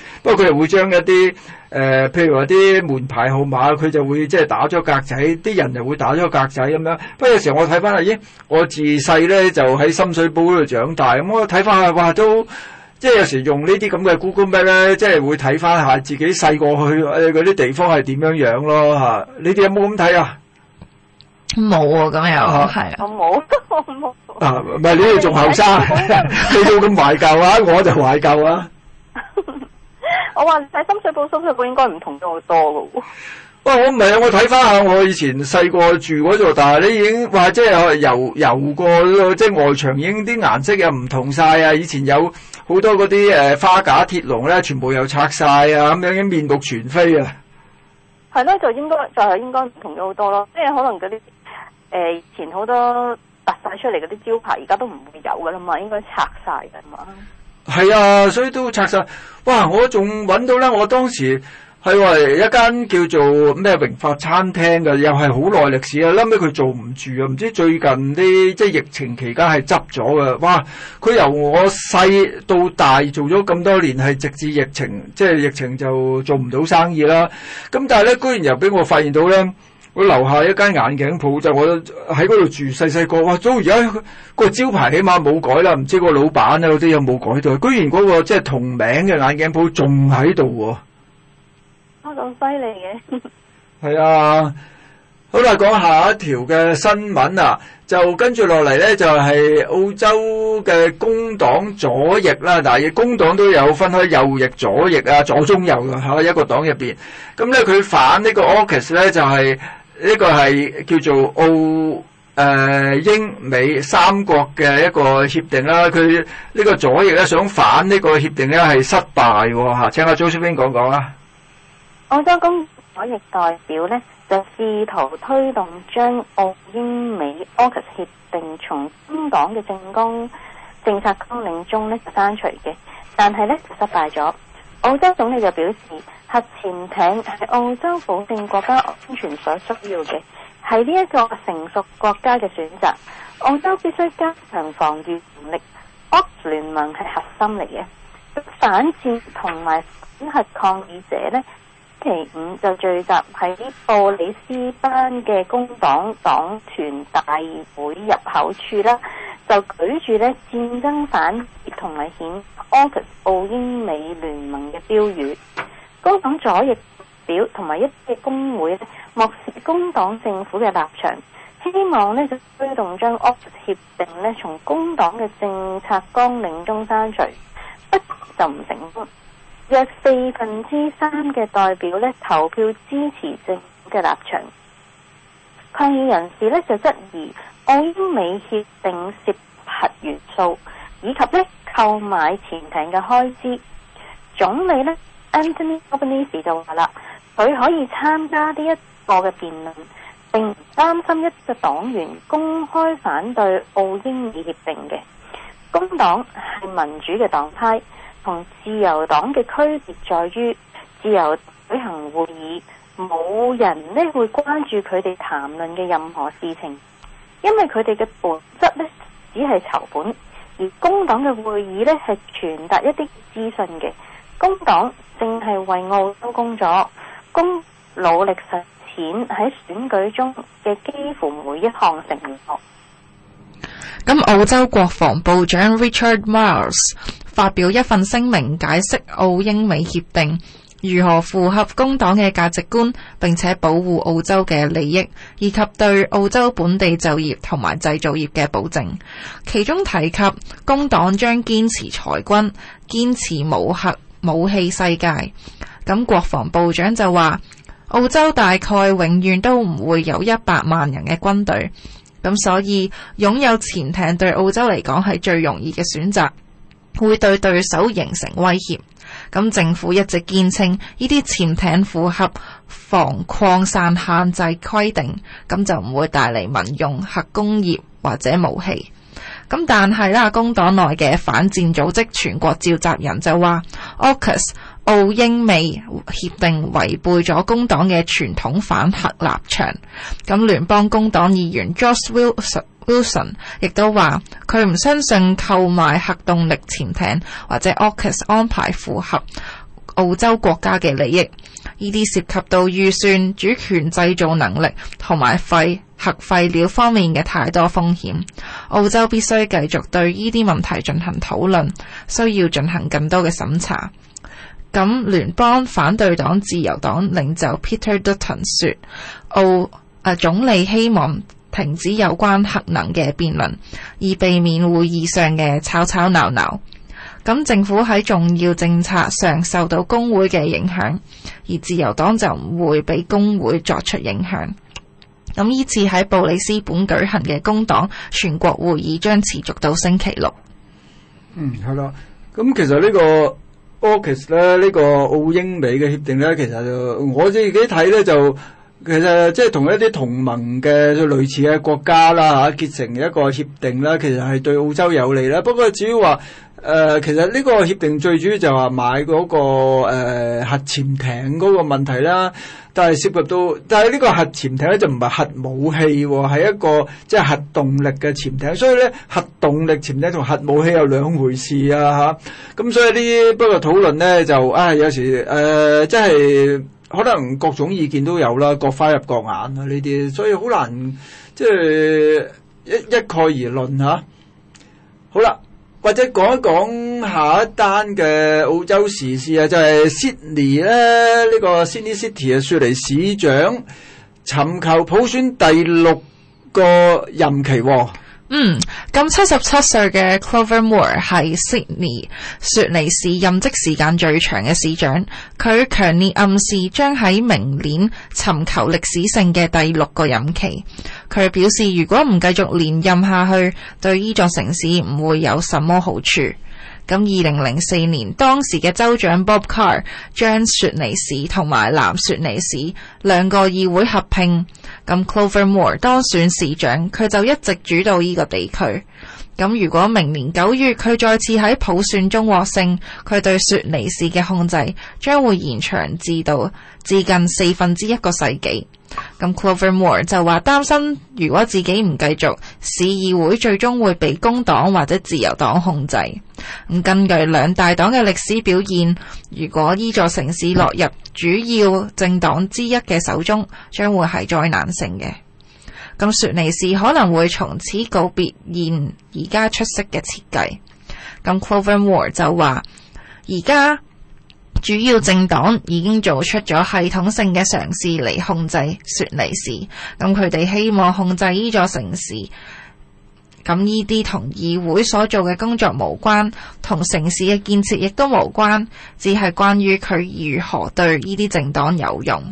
不過佢哋會將一啲誒、呃，譬如話啲門牌號碼，佢就會即係打咗格仔，啲人就會打咗格仔咁樣。不過有時候我睇翻啊，咦，我自細咧就喺深水埗嗰度長大，咁我睇翻下，哇，都即係有時用呢啲咁嘅 Google Map 咧，即係會睇翻下自己細個去誒嗰啲地方係點樣樣咯嚇。你哋有冇咁睇啊？ 冇啊，咁又係啊， 我冇，我冇。 啊，唔係你哋仲後生，你都咁懷舊啊，我就懷舊啊。 我話喺深水埗，深水埗應該唔同咗好多噶喎。 哇，我唔係啊，我睇翻下我以前細個住嗰度，但係你已經話即係游游過，即係外牆已經啲顏色又唔同晒啊！以前有好多嗰啲誒花架鐵籠咧，全部又拆晒啊，咁樣已經面目全非啊。 係咯，就應該就係、是、應該唔同咗好多咯，即係可能嗰啲誒以前好多凸晒出嚟嗰啲招牌，而家都唔會有噶啦嘛，應該拆晒噶嘛。係啊，所以都拆晒。哇！我仲揾到咧，我當時係話一間叫做咩榮發餐廳嘅，又係好耐歷史啊。後尾佢做唔住啊，唔知最近啲即係疫情期間係執咗嘅。哇！佢由我細到大做咗咁多年，係直至疫情，即係疫情就做唔到生意啦。咁但係咧，居然又俾我發現到咧。我樓下一間眼鏡鋪，就我喺嗰度住，細細個，哇！都而家個招牌起碼冇改啦，唔知個老闆啊嗰啲有冇改到？居然嗰、嗰個即係同名嘅眼鏡鋪仲喺度喎！ 啊，咁犀利嘅！係啊，好啦，講下一條嘅新聞啊，就跟住落嚟咧，就係、是、澳洲嘅工黨左翼啦。但係工黨都有分開右翼、左翼啊、左中右嘅嚇一個黨入邊。咁咧，佢反呢個 AUKUS 咧就係、是。呢個係叫做澳誒、呃、英美三國嘅一個協定啦。佢呢個左翼咧想反呢個協定咧係失敗喎嚇。請阿 Josephine 講講啦。 澳洲工左翼代表咧就試圖推動將澳英美 AUKUS 協定從工黨嘅政綱政策綱領中咧刪除嘅，但係咧就失敗咗。澳洲總理就表示，核潛艇係澳洲保證國家安全所需要嘅，係呢一個成熟國家嘅選擇。澳洲必須加強防禦能力。AUKUS 聯盟係核心嚟嘅。反戰同埋反核抗議者呢，星期五就聚集喺布里斯班嘅工黨黨團大會入口處啦，就舉住呢戰爭反同埋譴 AUKUS 澳英美聯盟嘅標語。工黨左翼表同埋一啲嘅工會咧，漠視工黨政府嘅立場，希望咧就推動將 AUKUS 協定咧從工黨嘅政策綱領中刪除，不就唔成功。約四分之三嘅代表咧投票支持政府嘅立場。抗議人士咧就質疑澳英美協定涉核元素，以及咧購買潛艇嘅開支。總理咧Anthony Albanese 就話啦，佢可以參加呢一個嘅辯論，並唔擔心一個黨員公開反對澳英美協定嘅。工黨係民主嘅黨派，同自由黨嘅區別在於，自由舉行會議，冇人呢會關注佢哋談論嘅任何事情，因為佢哋嘅本質呢只係籌本，而工黨嘅會議呢係傳達一啲資訊嘅。工黨正係為澳洲工作，工努力實踐喺選舉中嘅幾乎每一項承諾。 咁澳洲國防部長 Richard Marles 發表一份聲明，解釋澳英美協定如何符合工黨嘅價值觀，並且保護澳洲嘅利益，以及對澳洲本地就業同埋製造業嘅保證。其中提及工黨將堅持裁軍，堅持無核武器世界。咁國防部長就話，澳洲大概永遠都唔會有一百萬人嘅軍隊，咁所以擁有潛艇對澳洲嚟講係最容易嘅選擇，會對對手形成威脅。咁政府一直堅稱呢啲潛艇符合防擴散限制規定，咁就唔會帶嚟民用核工業或者武器。咁但係啦，工黨內嘅反戰組織全國召集人就話 AUKUS 澳英美協定違背咗工黨嘅傳統反核立場。咁聯邦工黨議員 Josh Wilson Wilson 亦都話佢唔相信購買核動力潛艇或者 AUKUS 安排符合澳洲國家嘅利益。呢啲涉及到預算、主權製造能力同埋廢核廢料方面嘅太多風險。澳洲必須繼續對呢啲問題進行討論，需要進行更多嘅審查。咁聯邦反對黨自由黨領袖 Peter Dutton 說，澳啊總理希望停止有關核能嘅辯論，以避免會議上嘅吵吵鬧鬧。咁政府喺重要政策上受到工會嘅影響，而自由黨就唔會俾工會作出影響。咁呢次喺布里斯本舉行嘅工黨全國會議將持續到星期六。 嗯，係啦。咁其實呢個 AUKUS 咧，呢個澳英美嘅協定咧，其實就我自己睇咧就。其實即係同一啲同盟嘅類似嘅國家啦嚇結成一個協定啦，其實係對澳洲有利啦。不過至於話誒，其實呢個協定最主要就係話買嗰、那個誒、呃、核潛艇嗰個問題啦。但係涉及到，但係呢個核潛艇咧就唔係核武器喎，係一個即係核動力嘅潛艇。所以咧核動力潛艇同核武器有兩回事啊嚇。咁所以呢啲不過討論咧就啊有時誒即係。可能各種意見都有啦，各花入各眼啊呢啲，所以好難即係一一概而論嚇。好啦，或者講一講下一單嘅澳洲時事啊，就係 Sydney 咧，呢個 Sydney City 嘅雪梨市長尋求普選第六個任期喎。 嗯，咁七十七歲嘅 Clover Moore 係 Sydney 雪梨市任職時間最長嘅市長，佢強烈暗示將喺明年尋求歷史性嘅第六個任期。佢表示如果唔繼續連任下去，對呢座城市唔會有什麼好處。咁二零零四年，當時嘅州長 Bob Carr 將雪梨市同埋南雪梨市兩個議會合併，咁 Clover Moore 當選市長，佢就一直主導呢個地區。咁如果明年九月佢再次喺普選中獲勝，佢對雪梨市嘅控制將會延長至到至近四分之一個世紀。咁 Clover Moore 就話擔心，如果自己唔繼續，市議會最終會被工黨或者自由黨控制。咁根據兩大黨嘅歷史表現，如果呢座城市落入主要政黨之一嘅手中，將會係災難性嘅。咁雪梨市可能會從此告別現而家出色嘅設計。咁 Clover Moore 就話，而家主要政黨已經做出咗系統性嘅嘗試嚟控制雪梨市，咁佢哋希望控制呢座城市。咁呢啲同議會所做嘅工作無關，同城市嘅建設亦都無關，只係關於佢如何對呢啲政黨有用。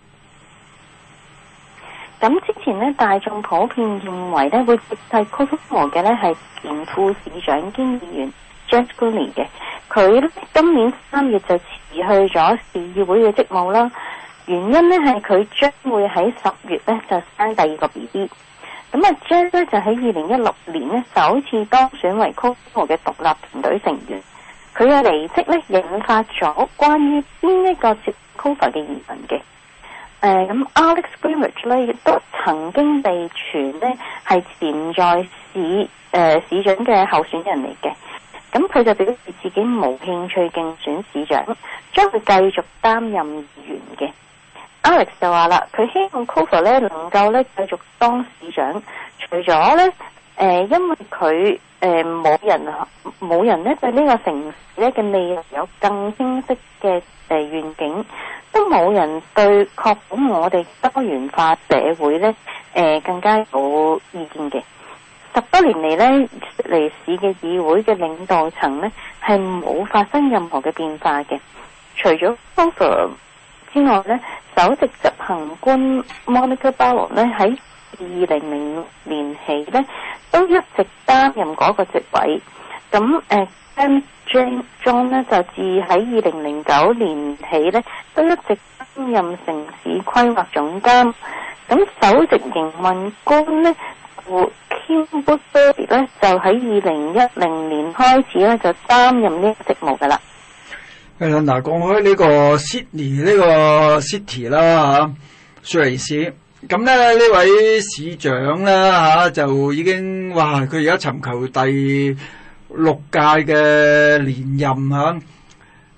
咁之前呢，大眾普遍認為呢會接替 Clover Moore 嘅呢係前副市長兼議員 Jack Gooley 嘅，佢今年三月就辭去咗市議會嘅職務啦。原因呢係佢將會喺十月呢就生第二個 B B。咁啊 Jack 呢就喺二零一六年呢首次當選為 Clover Moore 嘅獨立團隊成員。佢嘅離職呢引發咗關於邊一個接 Clover 嘅疑問嘅。誒咁、呃、Alex Greenwich 咧亦都曾經被傳呢係潛在市誒、呃、市長嘅候選人嚟嘅，咁佢就表示自己冇興趣競選市長，將會繼續擔任議員嘅。Alex 就話啦，佢希望 Clover 咧能夠咧繼續當市長，除咗咧誒因為佢誒冇人冇人咧對呢個城市咧嘅未來有更清晰嘅誒、呃、願景。都冇人對確保我哋多元化社會咧，誒、呃、更加有意見嘅。十多年嚟咧，雪梨市嘅議會嘅領導層咧係冇發生任何嘅變化嘅。除咗 Clover 之外咧，首席執行官 Monica Barlow 咧喺二零零六年起咧都一直擔任嗰個職位。咁誒。呃 Jane John 呢就自喺二零零九年起呢都一直擔任城市規劃總監。咁首席營運官呢 Kim Woodbury 呢就喺二零一零年開始呢就擔任呢個職務噶啦。 係啦，嗱，講開呢個 Sydney 呢個 city 啦嚇，雪梨市咁咧呢位市長啦嚇就已經哇，佢而家尋求第六屆嘅連任嚇，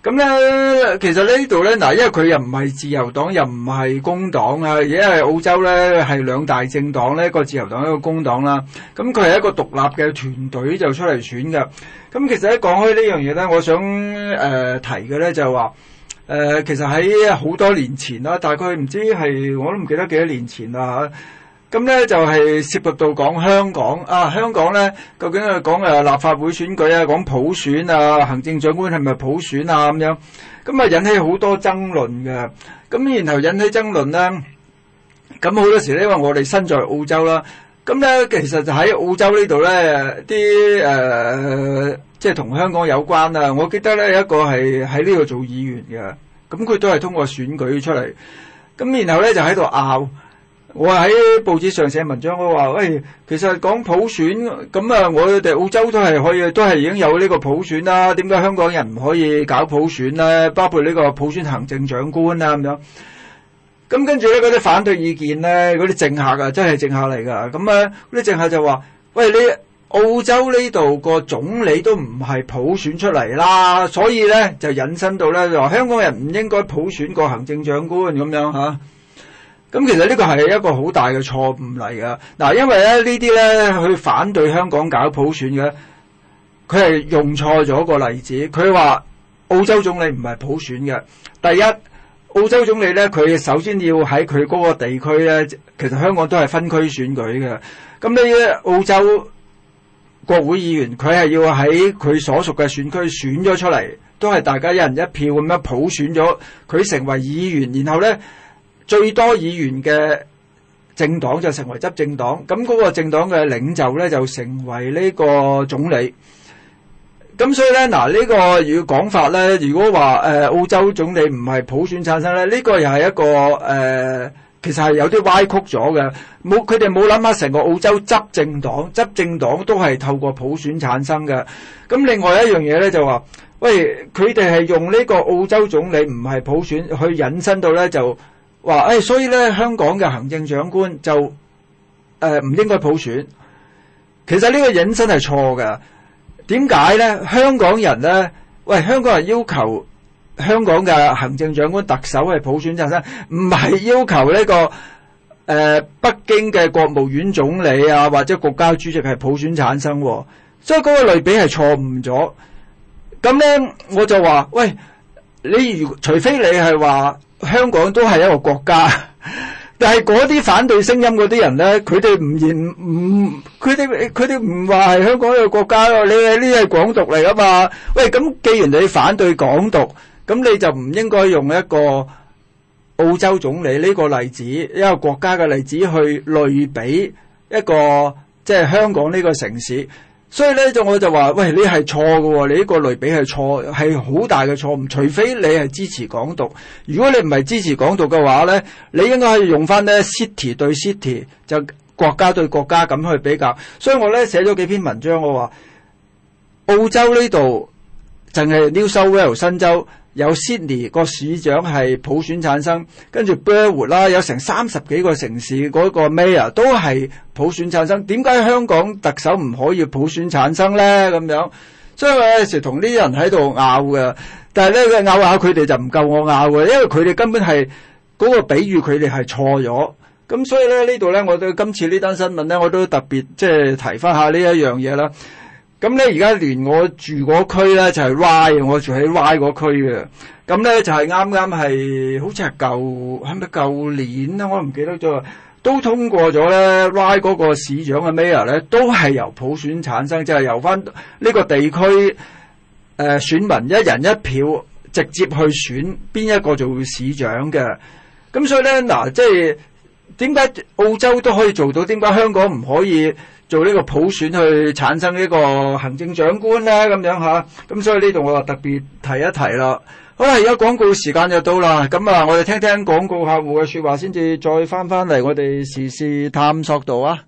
咁咧，其實呢度咧，嗱，因為佢又唔係自由黨，又唔係工黨啊，而家係澳洲咧係兩大政黨咧，一個自由黨，一個工黨啦。咁佢係一個獨立嘅團隊就出嚟選嘅。咁其實咧講開呢樣嘢咧，我想誒、呃、提嘅咧就係話，誒、呃、其實喺好多年前啦，大概唔知係我都唔記得幾多年前啦嚇。咁咧就係涉及到講香港啊，香港咧究竟係講誒立法會選舉啊，講普選啊，行政長官係咪普選啊咁樣，咁啊引起好多爭論嘅。咁然後引起爭論咧，咁好多時咧，因為我哋身在澳洲啦，咁咧其實就喺澳洲呢度咧，啲誒即係同香港有關啊。我記得咧有一個係喺呢度做議員嘅，咁佢都係通過選舉出嚟，咁然後咧就喺度拗。我喺報紙上寫文章，我話喂，其實講普選咁啊，我哋澳洲都係可以，都係已經有呢個普選啦。點解香港人唔可以搞普選咧？包括呢個普選行政長官啊咁樣。咁跟住咧，嗰啲反對意見咧，嗰啲政客啊，真係政客嚟㗎。咁啊，嗰啲政客就話：喂，你澳洲呢度個總理都唔係普選出嚟啦，所以咧就引申到咧，就話香港人唔應該普選個行政長官咁樣嚇。咁其實呢個係一個好大嘅錯誤嚟㗎。嗱，因為咧呢啲咧去反對香港搞普選嘅，佢係用錯咗個例子。佢話澳洲總理唔係普選嘅。第一，澳洲總理咧，佢首先要喺佢嗰個地區咧，其實香港都係分區選舉嘅。咁呢啲澳洲國會議員，佢係要喺佢所屬嘅選區選咗出嚟，都係大家一人一票咁樣普選咗佢成為議員，然後咧，最多議員嘅政黨就成為執政黨，咁嗰個政黨嘅領袖咧就成為呢個總理。咁所以咧，嗱、這、呢個如果講法咧，如果話誒、呃、澳洲總理唔係普選產生咧，呢、這個又係一個誒、呃，其實係有啲歪曲咗嘅。冇佢哋冇諗下成個澳洲執政黨，執政黨都係透過普選產生嘅。咁另外一樣嘢咧就話，喂，佢哋係用呢個澳洲總理唔係普選去引申到咧就。話誒、哎，所以咧香港嘅行政長官就誒唔、呃、應該普選。其實呢個引申係錯嘅。點解咧？香港人咧，喂，香港人要求香港嘅行政長官特首係普選產生，唔係要求呢、這個誒、呃、北京嘅國務院總理啊或者國家主席係普選產生、啊。所以嗰個類比係錯誤咗。咁咧我就話，喂，你如除非你係話。香港都係一個國家，但係嗰啲反對聲音嗰啲人咧，佢哋唔言唔，佢哋佢哋唔話係香港一個國家咯。你係呢係港獨嚟噶嘛？喂，咁既然你反對港獨，咁你就唔應該用一個澳洲總理呢個例子，一個國家嘅例子去類比一個即係香港呢個城市。所以咧就我就話，喂，你係錯嘅喎，你呢個類比係錯，係好大嘅錯誤。除非你係支持港獨，如果你唔係支持港獨嘅話咧，你應該係用翻咧 city 對 city，就國家對國家咁去比較。所以我咧寫咗幾篇文章，我話澳洲呢度淨係 New South Wales 新州有 Sydney 個市長係普選產生，跟住 Burwood 啦，有成三十幾個城市嗰個 mayor 都係普選產生。點解香港特首唔可以普選產生咧？咁樣，所以我有時同啲人喺度拗嘅，但係咧佢拗下佢哋就唔夠我拗嘅，因為佢哋根本係嗰個比喻佢哋係錯咗。咁所以咧呢度咧，我對今次呢單新聞咧，我都特別即係提翻下呢一樣嘢啦。咁咧，而家連我住嗰區咧就係 Y， 我住喺 Y 嗰區嘅。咁咧就係啱啱係，好似係舊係咪舊年咧？我唔記得咗，都通過咗咧。Y 嗰個市長嘅 Mayor 咧，都係由普選產生，即係由翻呢個地區誒、呃、選民一人一票直接去選邊一個做市長嘅。咁所以咧，嗱，即係點解澳洲都可以做到？點解香港唔可以做呢個普選去產生呢個行政長官咧？咁樣吓，咁所以呢度我話特別提一提啦。好啦，而家廣告時間就到啦，咁啊，我哋聽聽廣告客戶嘅說話先至再翻翻嚟我哋時事探索度啊。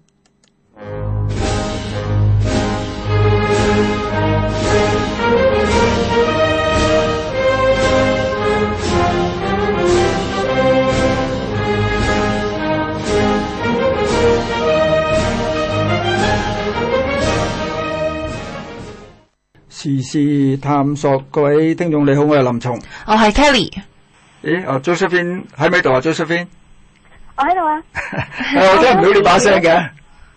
時事探索，各位聽眾你好，我係林松， 我係 Kelly。 咦，啊 Josephine 喺咪度啊 Josephine？ 我喺度啊。 我聽唔到你把聲嘅。 誒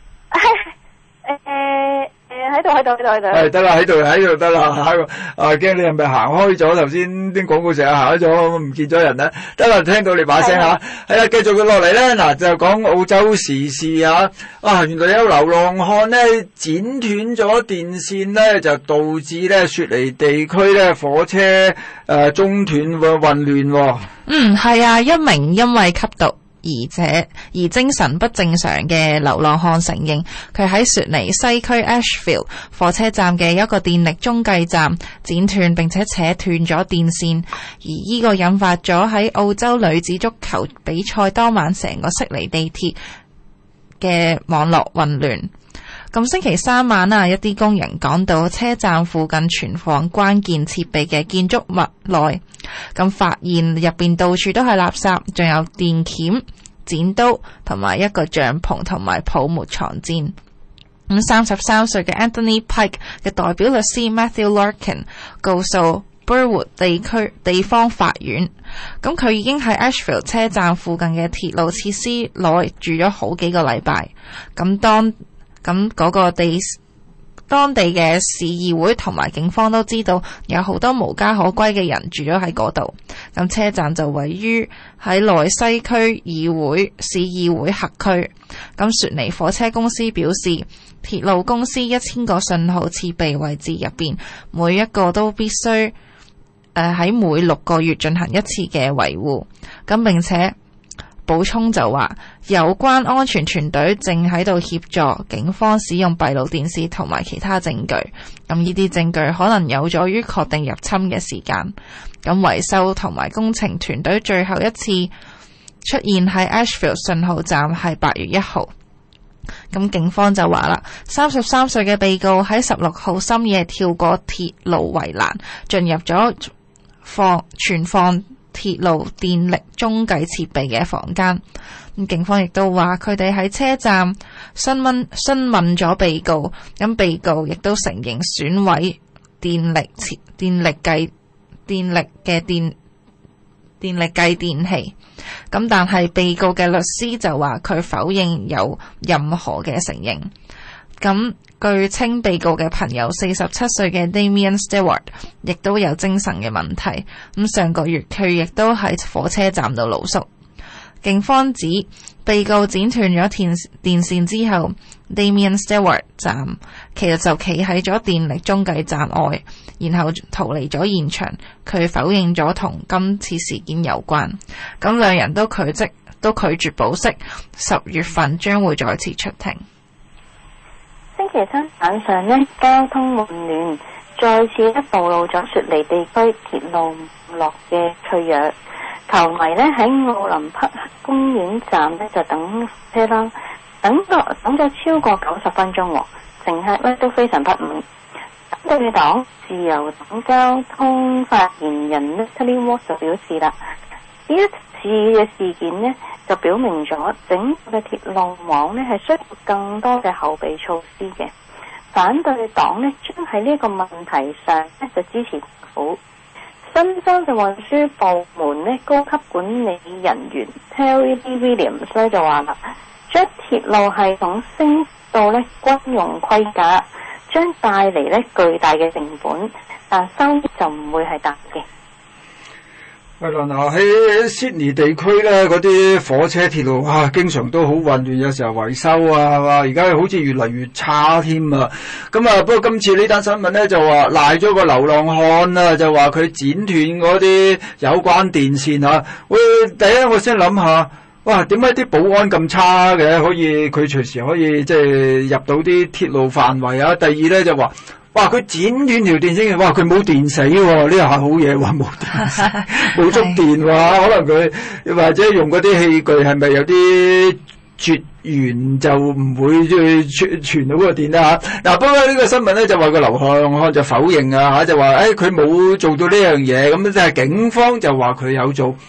誒喺度喺度喺度喺度。 係得啦，喺度喺度得啦。啊，驚你係咪行開咗？頭先啲廣告成日行開咗，唔見咗人啦。得啦，聽到你把聲嚇。係啦，繼續佢落嚟咧。嗱，就講澳洲時事啊。啊，原來有流浪漢咧剪斷咗電線咧，就導致咧雪梨地區咧火車誒、呃、中斷喎混亂喎。 嗯，係啊，一名因為吸毒而且而精神不正常嘅流浪漢承認，佢喺雪梨西區 Ashfield 火車站嘅一個電力中繼站剪斷並且扯斷咗電線，而呢個引發咗喺澳洲女子足球比賽當晚成個悉尼地鐵嘅網絡混亂。咁星期三晚啊，一啲工人趕到車站附近存放關鍵設備嘅建築物內，咁發現入邊到處都係垃圾，仲有電鉗、剪刀同埋一個帳篷同埋泡沫床墊。咁三十三歲嘅 Anthony Pike 嘅代表律師 Matthew Larkin 告訴 Burwood 地區地方法院，咁佢已經喺 Ashfield 車站附近嘅鐵路設施內住咗好幾個禮拜。咁當咁嗰個地當地嘅市議會同埋警方都知道有好多無家可歸嘅人住咗喺嗰度。咁車站就位於喺內西區議會市議會轄區。咁雪梨火車公司表示，鐵路公司一千個信號設備位置入邊，每一個都必須誒喺每六個月進行一次嘅維護。咁並且補充就話，有關安全團隊正喺度協助警方使用閉路電視同埋其他證據。咁呢啲證據可能有助於確定入侵嘅時間。咁維修同埋工程團隊最後一次出現喺 Ashfield 信號站係八月一號。咁警方就話啦，三十三歲嘅被告喺十六號深夜跳過鐵路圍欄，進入咗放存放鐵路電力中繼設備嘅房間。咁警方亦都話佢哋喺車站詢問詢問咗被告，咁被告亦都承認損毀電力設電力計電力嘅電電力計電器。咁但係被告嘅律師就話佢否認有任何嘅承認。咁據稱被告嘅朋友四十七歲嘅 Damien Stewart 亦都有精神嘅問題。咁上個月佢亦都喺火車站度露宿。警方指被告剪斷咗電電線之後， Damien Stewart 站其實就企喺咗電力中繼站外，然後逃離咗現場。佢否認咗同今次事件有關。咁兩人都拒絕都拒絕保釋，十月份將會再次出庭。 星期三晚上呢，交通混亂再次咧暴露咗雪梨地區鐵路網絡嘅脆弱。球迷呢喺奧林匹克公園站呢就等車啦，等咗等咗超過九十分鐘，乘客呢都非常不滿。反對黨自由黨交通發言人呢 Natalie Ward 就表示啦，呢一次嘅事件呢就表明咗整個嘅鐵路網呢係需要更多嘅後備措施嘅。反對黨呢將喺呢個問題上呢就支持政府。新州嘅運輸部門呢高級管理人員 Terry Williams 咧就話啦，將鐵路系統升到呢軍用規格，將帶嚟呢巨大嘅成本，但收益就唔會係大嘅。 係啦，嗱喺悉尼地區咧，嗰啲火車鐵路啊，經常都好混亂，有時候維修啊，係嘛？而家好似越嚟越差添啊！咁啊，不過今次呢單新聞咧就話賴咗個流浪漢啊，就話佢剪斷嗰啲有關電線啊。喂，第一我先諗下，哇，點解啲保安咁差嘅？可以佢隨時可以即係入到啲鐵路範圍啊？第二咧就話。哇！佢剪斷條電線嘅，哇！佢冇電死喎，呢下好嘢喎，冇電死，冇觸電喎，可能佢或者用嗰啲器具係咪有啲絕緣就唔會去傳傳到個電啦嚇。嗱、啊，不過呢個新聞咧就話個流浪漢就否認啊嚇，就話誒佢冇做到呢樣嘢，咁即係警方就話佢有做。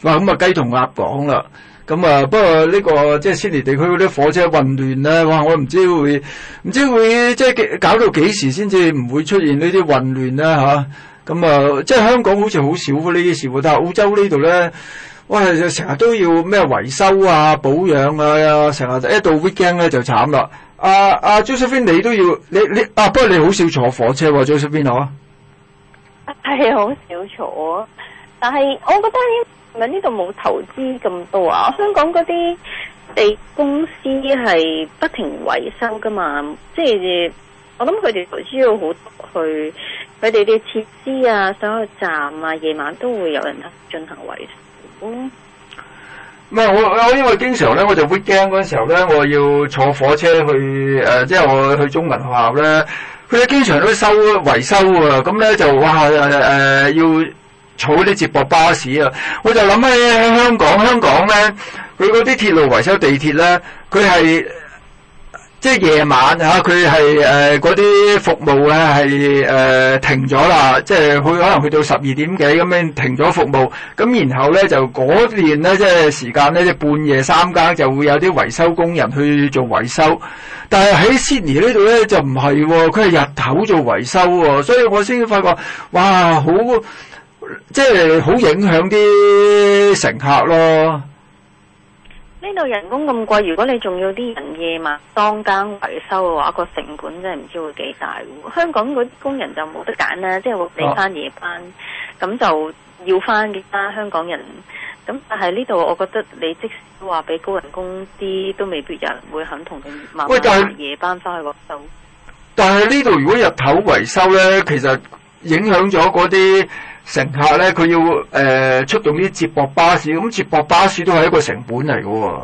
哇，咁啊雞同鴨講啦。咁啊，不過呢個即係悉尼地區嗰啲火車混亂咧，哇！我唔知會唔知會即係搞到幾時先至唔會出現呢啲混亂咧嚇。咁啊，即係香港好似好少呢啲事喎，但係澳洲呢度咧，哇！成日都要咩維修啊、保養啊，成日一到 weekend 咧就慘啦。阿阿 Josephine 你都要你你啊，不過你好少坐火車喎 Josephine 嗬？ 係好少坐，但係我覺得係咪呢度冇投資咁多啊？香港嗰啲地公司係不停維修噶嘛，即係我諗佢哋投資要好多去佢哋啲設施啊、所有站啊，夜晚都會有人進行維修。 唔係我我因為經常咧，我就 weekend 嗰陣時候咧，我要坐火車去誒、呃，即係我去中文學校咧，佢哋經常都收維修啊，咁咧就哇誒、呃、要坐啲接駁巴士啊，我就諗起香港，香港咧佢嗰啲鐵路維修地鐵咧，佢係即係夜晚嚇，佢係誒嗰啲服務咧係誒停咗啦，即係佢可能去到十二點幾咁樣停咗服務，咁然後咧就嗰段咧即係時間咧，即係半夜三更就會有啲維修工人去做維修，但係喺 Sydney 呢度咧就唔係喎，佢係日頭做維修喎，所以我先發覺哇好即係好影響啲乘客咯。 呢度人工咁貴，如果你仲要啲人夜晚當更維修嘅話，個成本真係唔知會幾大喎。香港嗰啲工人就冇得揀啦，即係你翻夜班，咁、啊、就要翻嘅啦。香港人咁，但係呢度我覺得你即使話俾高人工啲，都未必有人會肯同你慢慢捱夜班翻去嗰度。 但係呢度如果日頭維修咧，其實影響咗嗰啲乘客咧，佢要誒、呃、出動啲接駁巴士，咁接駁巴士都係一個成本嚟嘅喎。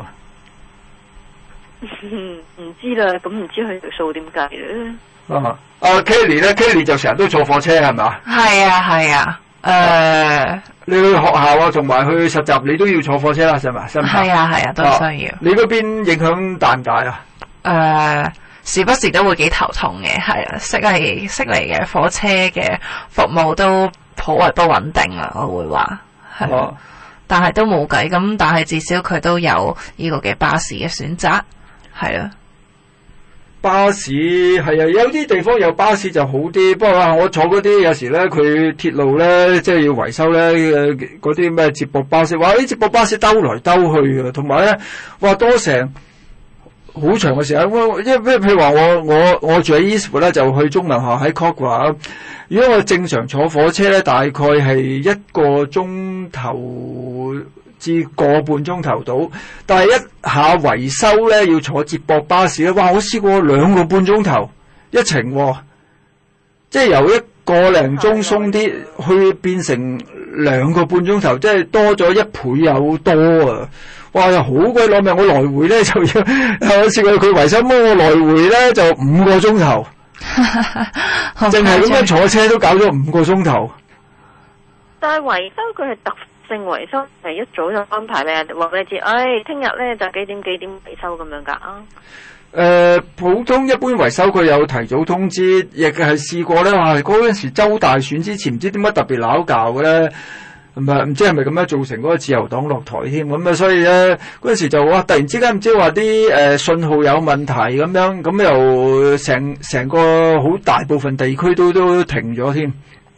唔知啦，咁唔知佢條數點計咧？ 啊，阿 Kelly 咧 ，Kelly 就成日都坐火車係咪？ 係啊係啊，誒、呃， 你去學校啊，同埋去實習，你都要坐火車啦，係咪？ 係啊係啊，都需要。 啊、你嗰邊影響大唔大啊？ 誒、呃，時不時都會幾頭痛嘅，係啊，悉尼悉尼嘅火車嘅服務都頗為不穩定啊，我會話係、啊，但係都冇計咁，但係至少佢都有呢個嘅巴士嘅選擇，係啊。 巴士係啊，有啲地方有巴士就好啲，不過啊，我坐嗰啲有時咧，佢鐵路咧即係要維修咧，嗰啲咩接駁巴士，哇！啲接駁巴士兜來兜去啊，同埋咧，哇多成好長嘅時間。我因為譬如話我我我住喺 Eastwood 咧，就去中文學校喺 Kogarah。如果我正常坐火車咧，大概係一個鐘頭至個半鐘頭到，但係一下維修咧要坐接駁巴士咧，哇！我試過兩個半鐘頭一程、哦，即係由一個零鐘鬆啲去變成兩個半鐘頭，即係多咗一倍有多啊！哇！又好鬼攞命，我來回咧就要，我試過佢維修，我來回咧就五個鐘頭。淨係咁樣坐車都搞咗五個鐘頭。 但係維修佢係特性維修，係一早就安排咧，話俾你知，唉，聽日咧就幾點幾點維修咁樣噶啊。 誒，普通一般維修佢有提早通知，亦係試過咧，話嗰陣時州大選之前，唔知點解特別鬧交嘅咧。唔係唔知係咪咁樣造成嗰個自由黨落台添咁啊？所以咧嗰陣時就哇，突然之間唔知話啲誒信號有問題咁樣，咁又成成個好大部分地區都都停咗添。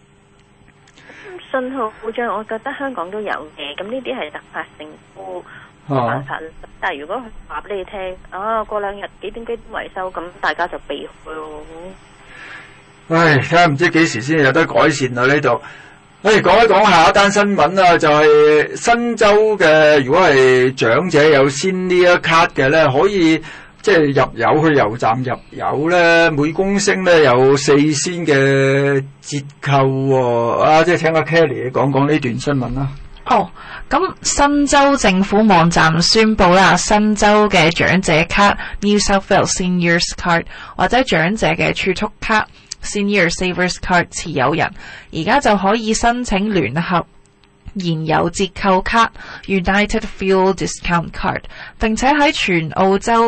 信號故障，我覺得香港都有嘅，咁呢啲係突發性都冇辦法。啊、但係如果佢話俾你聽，啊過兩日幾點幾點維修，咁大家就避開咯。 唉，睇下唔知幾時先有得改善啊呢度。誒，講一講下一單新聞啊，就係、是、新州嘅，如果係長者有 Senior Card 嘅咧，可以即係入油去油站入油咧，每公升咧有四仙嘅折扣喎、哦。啊，即係請阿 Kelly 講講呢段新聞啦。 哦，咁新州政府網站宣布啦，新州嘅長者卡 New South Wales Seniors Card 或者長者嘅儲蓄卡Senior Savers Card 持有人，而家就可以申請聯合燃油折扣卡 United Fuel Discount Card， 並且喺全澳洲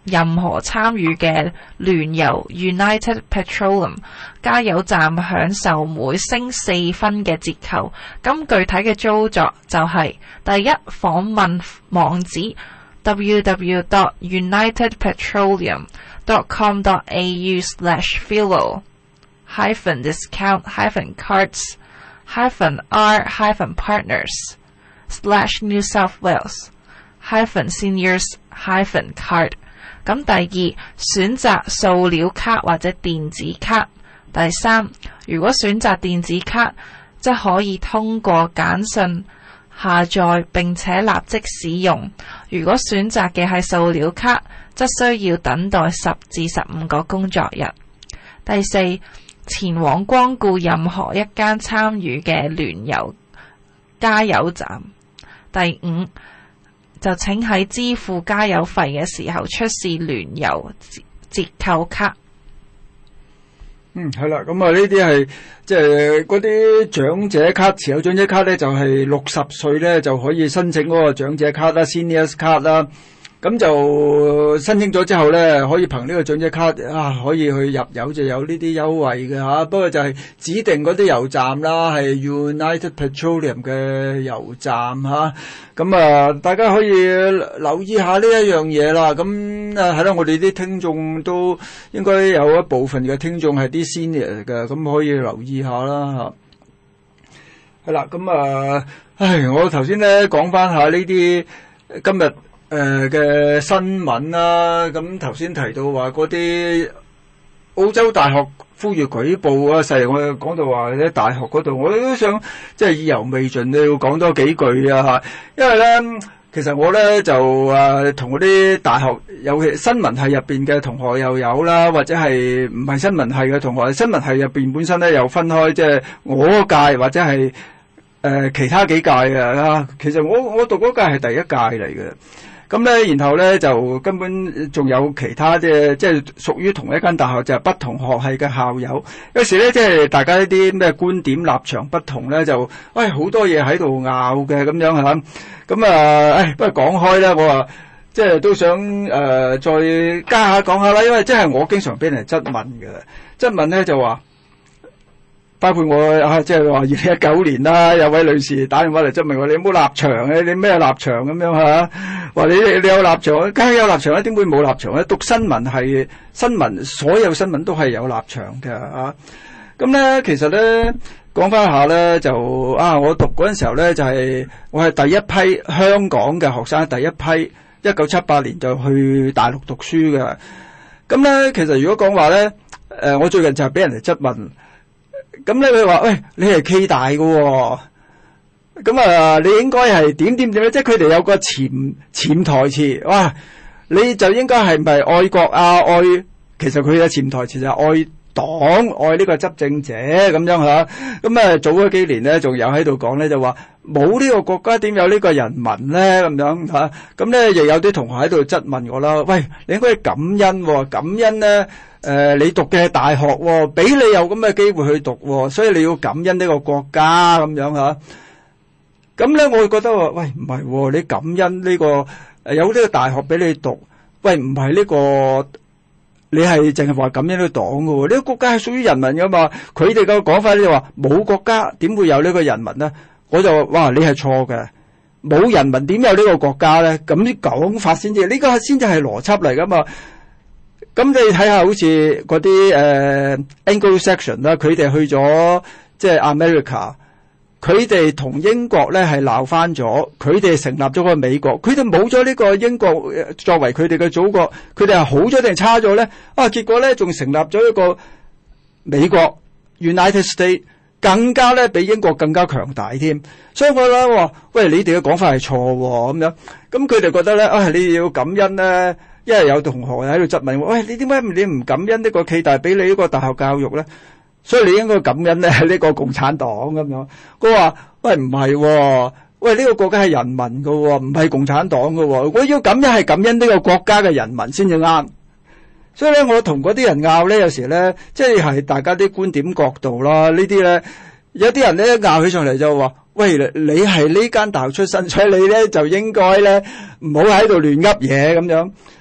任何參與嘅聯油 United Petroleum 加油站享受每升四分嘅折扣。咁具體嘅操作就係、是、第一，訪問網址 double-u double-u double-u dot united petroleum dot com dot a u slash fuel hyphen discount hyphen cards hyphen r hyphen partners slash New South Wales hyphen seniors hyphen card。咁第二，選擇塑料卡或者電子卡。第三，如果選擇電子卡，則可以通過簡訊下載並且立即使用。如果選擇嘅係塑料卡，則需要等待十至十五個工作日。第四，前往光顧任何一間參與嘅聯油加油站。第五，就請喺支付加油費嘅時候出示聯油折扣卡。 嗯，係啦，咁啊呢啲係即係嗰啲長者卡，持有長者卡咧就係六十歲咧就可以申請嗰個長者卡啦 ，Seniors 卡啦。咁就申請咗之後咧，可以憑呢個長者卡啊，可以去入油就有呢啲優惠嘅嚇。不過就係指定嗰啲油站啦，係 United Petroleum 嘅油站嚇。咁啊，大家可以留意下呢一樣嘢啦。咁啊，係啦，我哋啲聽眾都應該有一部分嘅聽眾係啲 senior 嘅，咁可以留意下啦嚇。係啦，咁啊，唉，我頭先咧講翻下呢啲今日誒嘅、呃、新聞啦，咁頭先提到話嗰啲澳洲大學呼籲舉報啊，細我講到話喺大學嗰度，我都想即係意猶未盡，你要講多幾句啊嚇，因為咧其實我咧就誒同嗰啲大學尤其新聞系入邊嘅同學又有啦，或者係唔係新聞系嘅同學，新聞系入邊本身咧又分開，即係我嗰屆或者係誒、呃、其他幾屆嘅，其實我我讀嗰屆係第一屆嚟嘅。咁咧，然後咧就根本仲有其他嘅，即係屬於同一間大學，就係、是、不同學系嘅校友。有時咧，即係大家一啲咩觀點立場不同咧，就喂好多嘢喺度拗嘅咁樣嚇。咁啊，誒不過講開咧，我話即係都想誒、呃、再加下講下啦，因為即係我經常俾人質問嘅，質問咧就話。包括我啊，即係話二零一九年啦，有位女士打電話嚟質問我：你有冇立場嘅？你咩立場咁樣嚇？話你你有立場，梗係有立場啦，點會冇立場咧？讀新聞係新聞，所有新聞都係有立場嘅啊。咁咧，其實咧講翻下咧，就啊，我讀嗰陣時候咧，就係、是、我係第一批香港嘅學生，第一批一九七八年就去大陸讀書嘅。咁咧，其實如果講話咧，誒、呃，我最近就係俾人哋質問。咁咧佢話：喂，你係暨大嘅喎、哦，咁啊，你應該係點點點咧？即係佢哋有個潛潛台詞，哇！你就應該係唔係愛國啊？愛其實佢嘅潛台詞就係愛黨、愛呢個執政者咁樣嚇。咁啊，早嗰幾年咧，仲有喺度講咧，就話冇呢個國家點有呢個人民咧咁樣嚇。咁咧亦有啲同學喺度質問我啦：喂，你應該感恩喎、哦，感恩咧。誒、呃，你讀嘅大學喎、哦，俾你有咁嘅機會去讀喎、哦，所以你要感恩呢個國家咁樣嚇。咁咧，我會覺得話，喂，唔係喎，你感恩呢、這個誒、呃、有呢個大學俾你讀，喂，唔係呢個，你係淨係話感恩呢個黨嘅喎，呢、這個國家係屬於人民㗎嘛。佢哋嘅講法咧就話冇國家點會有呢個人民咧？我就話，哇，你係錯嘅，冇人民點有呢個國家咧？咁啲講法先至，呢、這個先至係邏輯嚟㗎嘛。咁你睇下好似嗰啲誒 Anglo-Saxon 啦，佢哋去咗即係 America，佢哋同英國咧係鬧翻咗，佢哋成立咗個美國，佢哋冇咗呢個英國作為佢哋嘅祖國，佢哋係好咗定差咗咧？啊，結果咧仲成立咗一個美國 United States， 更加咧比英國更加強大添。所以我咧話，喂，你哋嘅講法係錯喎咁樣，咁佢哋覺得咧，啊，你要感恩咧。因為有同學喺度質問我，喂，你點解你唔感恩呢個暨大俾你呢個大學教育咧？所以你應該感恩咧呢個共產黨咁樣。佢話：喂，唔係喎，喂，呢個國家係人民㗎喎，唔係共產黨㗎喎。我要感恩係感恩呢個國家嘅人民先至啱。所以咧，我同嗰啲人拗咧，有時咧，即係係大家啲觀點角度啦。呢啲咧，有啲人咧拗起上嚟就話：喂，你係呢間大學出身，所以你咧就應該咧唔好喺度亂噏嘢咁樣。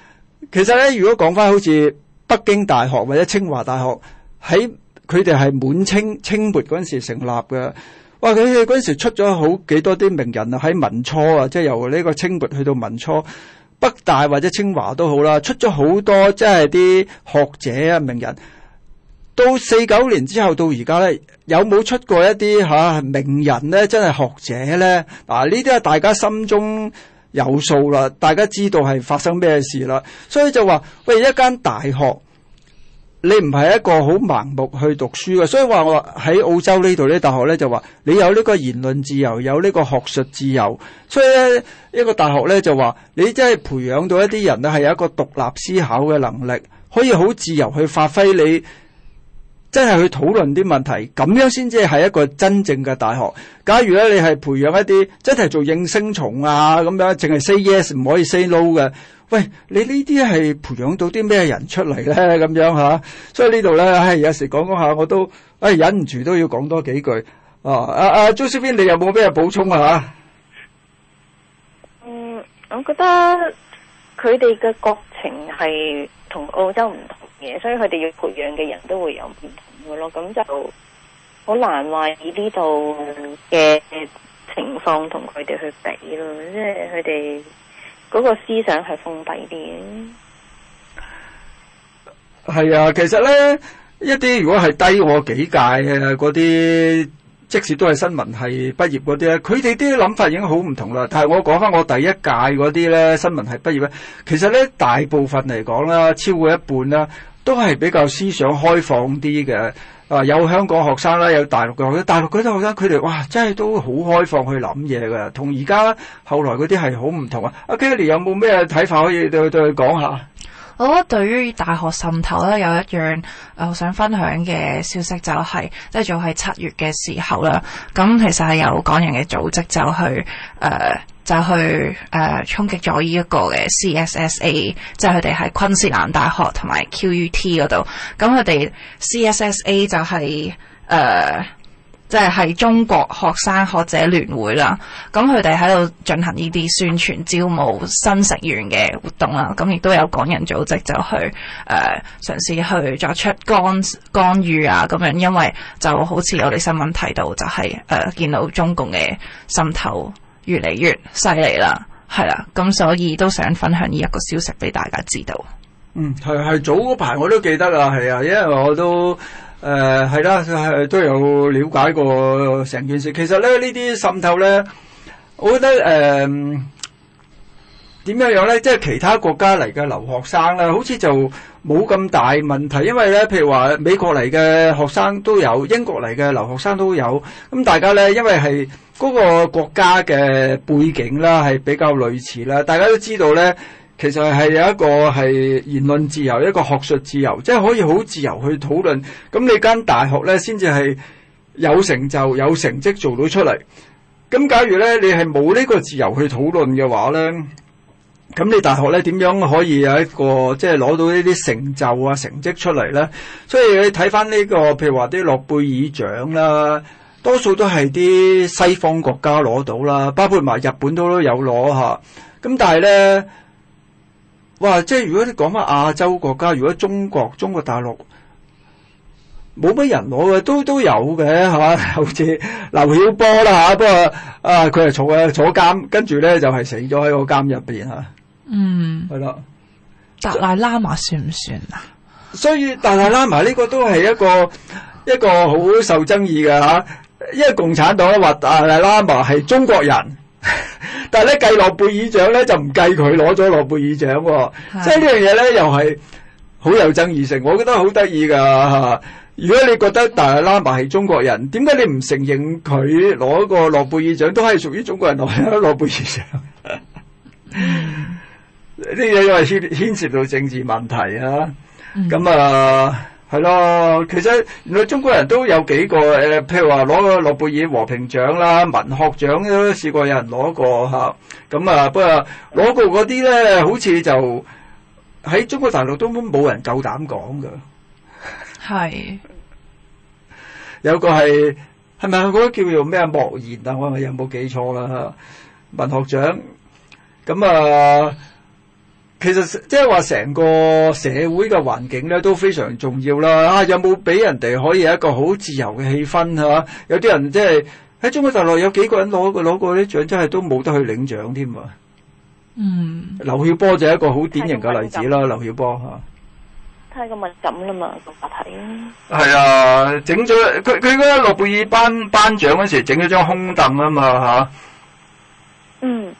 其實咧，如果講翻好似北京大學或者清華大學，喺佢哋係滿清清末嗰陣時成立嘅。哇！佢哋嗰陣時出咗好幾多啲名人啊，喺民初啊，即係由呢個清末去到民初，北大或者清華都好啦，出咗好多即係啲學者啊名人。到四九年之後到而家咧，有冇出過一啲吓、啊、名人咧？真係學者咧？嗱，呢啲係大家心中有數啦，大家知道係發生咩事啦，所以就話喂，一間大學你唔係一個好盲目去讀書嘅，所以話我喺澳洲呢度呢大學咧就話你有呢個言論自由，有呢個學術自由，所以咧一個大學咧就話你真係培養到一啲人咧係有一個獨立思考嘅能力，可以好自由去發揮你。真係去討論啲問題，咁樣先至係一個真正嘅大學。假如咧你係培養一啲真係做應聲蟲啊咁樣，淨係 say yes 唔可以 say no 嘅，喂，你呢啲係培養到啲咩人出嚟咧？咁樣吓，所以呢度咧，唉，有時講講下我都，唉，忍唔住都要講多幾句。啊，阿阿 Josephine，你有冇咩補充啊？ 嗯，我覺得佢哋嘅國情係同澳洲唔同嘅，所以佢哋要培養嘅人都會有唔同嘅咯。咁就好難話以呢度嘅情況同佢哋去比咯，即係佢哋嗰個思想係封閉啲嘅。 係啊，其實咧一啲如果係低我幾屆嘅嗰啲，即使都係新聞系畢業嗰啲咧，佢哋啲諗法已經好唔同啦。但係我講翻我第一屆嗰啲咧，新聞系畢業咧，其實咧大部分嚟講啦，超過一半啦，都係比較思想開放啲嘅。啊，有香港學生啦，有大陸嘅學生，大陸嗰啲學生佢哋哇，真係都好開放去諗嘢㗎，同而家後來嗰啲係好唔同啊。阿 Kelly 有冇咩睇法可以對對佢講下？ 我覺得對於大學滲透咧，有一樣誒想分享嘅消息就係、是，即係早喺七月嘅時候啦。咁其實係有港人嘅組織就去誒、呃、就去誒、呃、衝擊咗呢一個嘅 C S S A， 即係佢哋喺昆士蘭大學同埋 Q U T 嗰度。咁佢哋 C S S A 就係、是、誒。呃即係係中國學生學者聯會啦，咁佢哋喺度進行呢啲宣傳招募新成員嘅活動啦，咁亦都有港人組織就去誒、呃、嘗試去作出干干預啊咁樣，因為就好似我哋新聞提到，就係、是、誒、呃、見到中共嘅滲透越嚟越犀利啦，係啦，咁所以都想分享呢一個消息俾大家知道。 嗯，係係早嗰排我都記得啊，係啊，因為我都。誒係啦，係都有了解過成件事。其實咧，呢啲滲透咧，我覺得誒點樣樣咧，即係其他國家嚟嘅留學生咧，好似就冇咁大問題。因為咧，譬如話美國嚟嘅學生都有，英國嚟嘅留學生都有。咁大家咧，因為係嗰個國家嘅背景啦，係比較類似啦。大家都知道咧。其實係有一個係言論自由，一個學術自由，即係可以好自由去討論。咁你間大學咧，先至係有成就、有成績做到出嚟。咁假如咧，你係冇呢個自由去討論嘅話咧，咁你大學咧點樣可以有一個即係攞到呢啲成就啊、成績出嚟咧？所以你睇翻呢個，譬如話啲諾貝爾獎啦，多數都係啲西方國家攞到啦，包括埋日本都都有攞吓。咁但係咧。哇！即係如果你講翻亞洲國家，如果中國中國大陸冇乜人攞嘅，都都有嘅嚇，好似劉曉波啦嚇，不過啊佢係坐啊坐監，跟住咧就係、是、死咗喺個監入邊嚇。嗯，係啦。 達賴喇嘛算唔算啊？ 所以達賴喇嘛呢個都係一個一個好受爭議嘅嚇，因為共產黨話達賴喇嘛係中國人。但係咧計諾貝爾獎咧就唔計佢攞咗諾貝爾獎喎，即係呢樣嘢咧又係好有爭議性，我覺得好得意㗎嚇。如果你覺得達賴喇嘛係中國人，點解你唔承認佢攞個諾貝爾獎都係屬於中國人攞諾貝爾獎？呢嘢因為牽牽涉到政治問題啊，咁、嗯、啊。係咯，其實原來中國人都有幾個誒，譬如話攞個諾貝爾和平獎啦、文學獎都試過有人攞過嚇。咁啊，不過攞過嗰啲咧，好似就喺中國大陸都冇人夠膽講㗎。係有個係係咪嗰個叫做咩莫言啊？我係咪有冇記錯啦？文學獎咁啊。 其實即係話成個社會嘅環境咧都非常重要啦。啊，有冇俾人哋可以有一個好自由嘅氣氛係嘛？有啲人即係喺中國大陸有幾個人攞過攞過啲獎，真係都冇得去領獎添啊！ 嗯， 劉曉波就係一個好典型嘅例子啦。劉曉波嚇。 太過敏感啦嘛，個話題啊！ 係啊，整咗佢佢嗰個諾貝爾頒頒獎嗰時整咗張空凳啊嘛嚇。 嗯。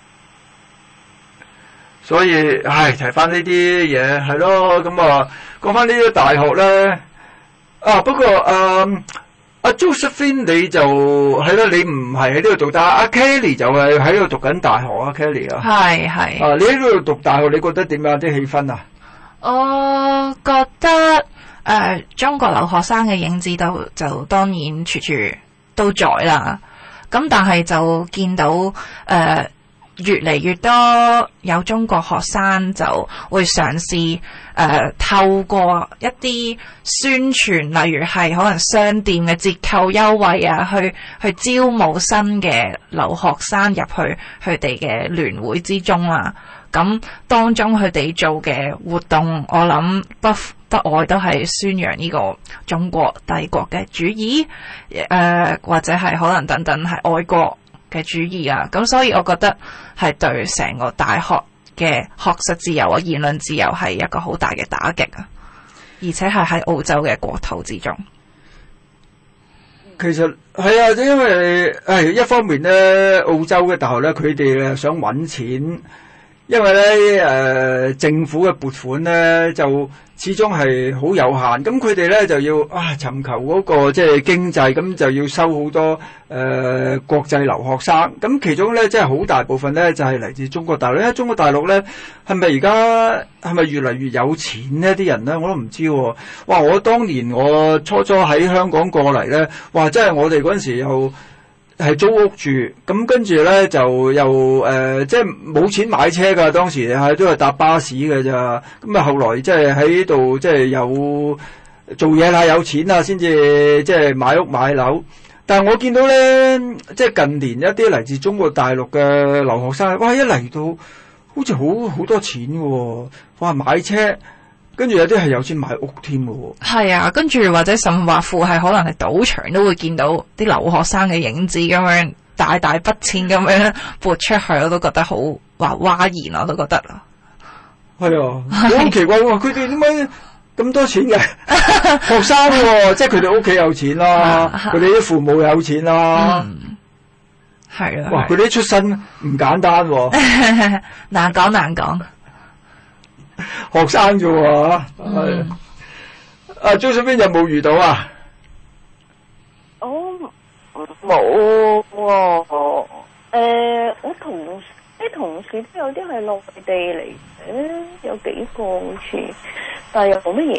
所以唉，提翻呢啲嘢係咯，咁啊講翻呢啲大學咧。啊，不過誒阿 Josephine 你就係咯，你唔係喺呢度讀，但係阿 Kelly 就係喺度讀緊大學啊 Kelly 啊。係係。啊，你喺呢度讀大學，你覺得點樣啲氣氛啊？ 我覺得誒、呃、中國留學生嘅影子都就當然處處都在啦，咁但係就見到誒、呃、越嚟越多有中國學生就會嘗試誒透過一啲宣傳，例如係可能商店嘅折扣優惠啊，去去招募新嘅留學生入去佢哋嘅聯會之中啦。咁當中佢哋做嘅活動，我諗不不外都係宣揚呢個中國帝國嘅主義，誒、呃、或者係可能等等係愛國嘅主義啊。咁所以我覺得係對成個大學嘅學術自由啊、言論自由係一個好大嘅打擊啊，而且係喺澳洲嘅國土之中。 其實係啊，因為誒一方面咧，澳洲嘅大學咧，佢哋想揾錢。因為咧，誒、呃、政府嘅撥款咧就始終係好有限，咁佢哋咧就要啊尋求嗰、那個即係、就是、經濟，咁就要收好多誒、呃、國際留學生，咁其中咧即係好大部分咧就係、是、嚟自中國大陸。因為中國大陸咧係咪而家係咪越嚟越有錢呢？啲人咧我都唔知喎、啊。哇！我當年我初初喺香港過嚟咧，哇！真係我哋嗰陣時又〜係租屋住，咁跟住咧就又誒、呃，即係冇錢買車㗎，當時係都係搭巴士㗎咋。咁啊，後來即係喺度即係有做嘢啦，有錢啦，先至即係買屋買樓。但係我見到咧，即係近年一啲嚟自中國大陸嘅留學生，哇！一嚟到好似好好多錢㗎喎，哇！買車。跟住有啲係有錢買屋添嘅喎， 係啊，跟住或者甚或乎係可能係賭場都會見到啲留學生嘅影子咁樣，大大筆錢咁樣撥出去，我都覺得好話嘩然，我都覺得啊， 係啊，好奇怪喎，佢哋點解咁多錢嘅學生喎、啊？即係佢哋屋企有錢啦，佢哋啲父母有錢啦， 係、嗯、啊， 哇！佢哋啲出身唔簡單喎、啊， 難講難講。 學生啫喎，係阿 Josephine 有冇遇到啊？ 我冇喎，誒，我同啲同事都有啲係內地嚟嘅，有幾個好似，但係又冇乜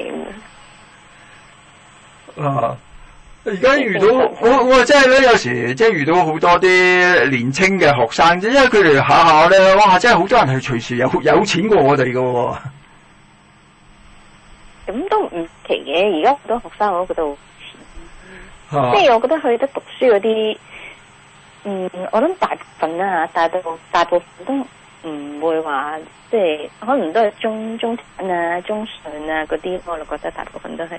嘢。啊！ 而家遇到我我真係咧，有時即係遇到好多啲年青嘅學生啫，因為佢哋下下咧，哇！真係好多人係隨時有有錢過我哋㗎喎。 咁都唔奇嘅，而家好多學生我都覺得好錢，啊、即係我覺得去得讀書嗰啲，嗯，我諗大部分啦嚇，大部大部分都唔會話，即係可能都係中中產啊、中上啊嗰啲，我就覺得大部分都係。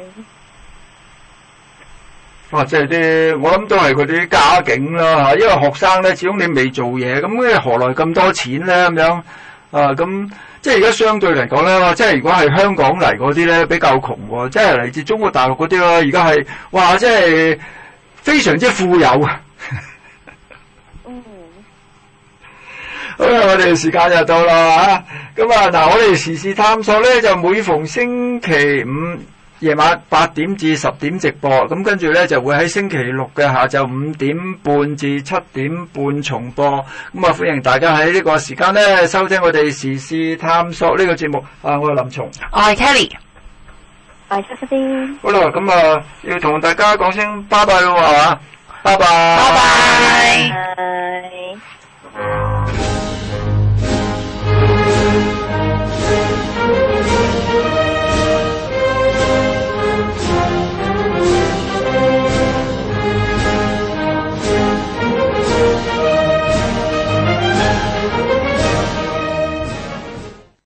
哇！即係啲，我諗都係佢啲家境啦嚇，因為學生咧，始終你未做嘢，咁咧何來咁多錢咧咁樣啊？咁即係而家相對嚟講咧，即係如果係香港嚟嗰啲咧比較窮喎，即係嚟自中國大陸嗰啲咯，而家係哇，即係非常之富有啊！ 嗯， 好啦，我哋時間就到啦嚇，咁啊嗱，我哋時事探索咧就每逢星期五夜晚八點至十點直播，咁跟住咧就會喺星期六嘅下晝五點半至七點半重播。咁啊，歡迎大家喺呢個時間咧收聽我哋時事探索呢個節目。啊，我係林松， 我係 Kelly， 我係 Josephine。 好啦，咁啊要同大家講聲拜拜咯，係嘛？拜拜。 拜拜。 拜。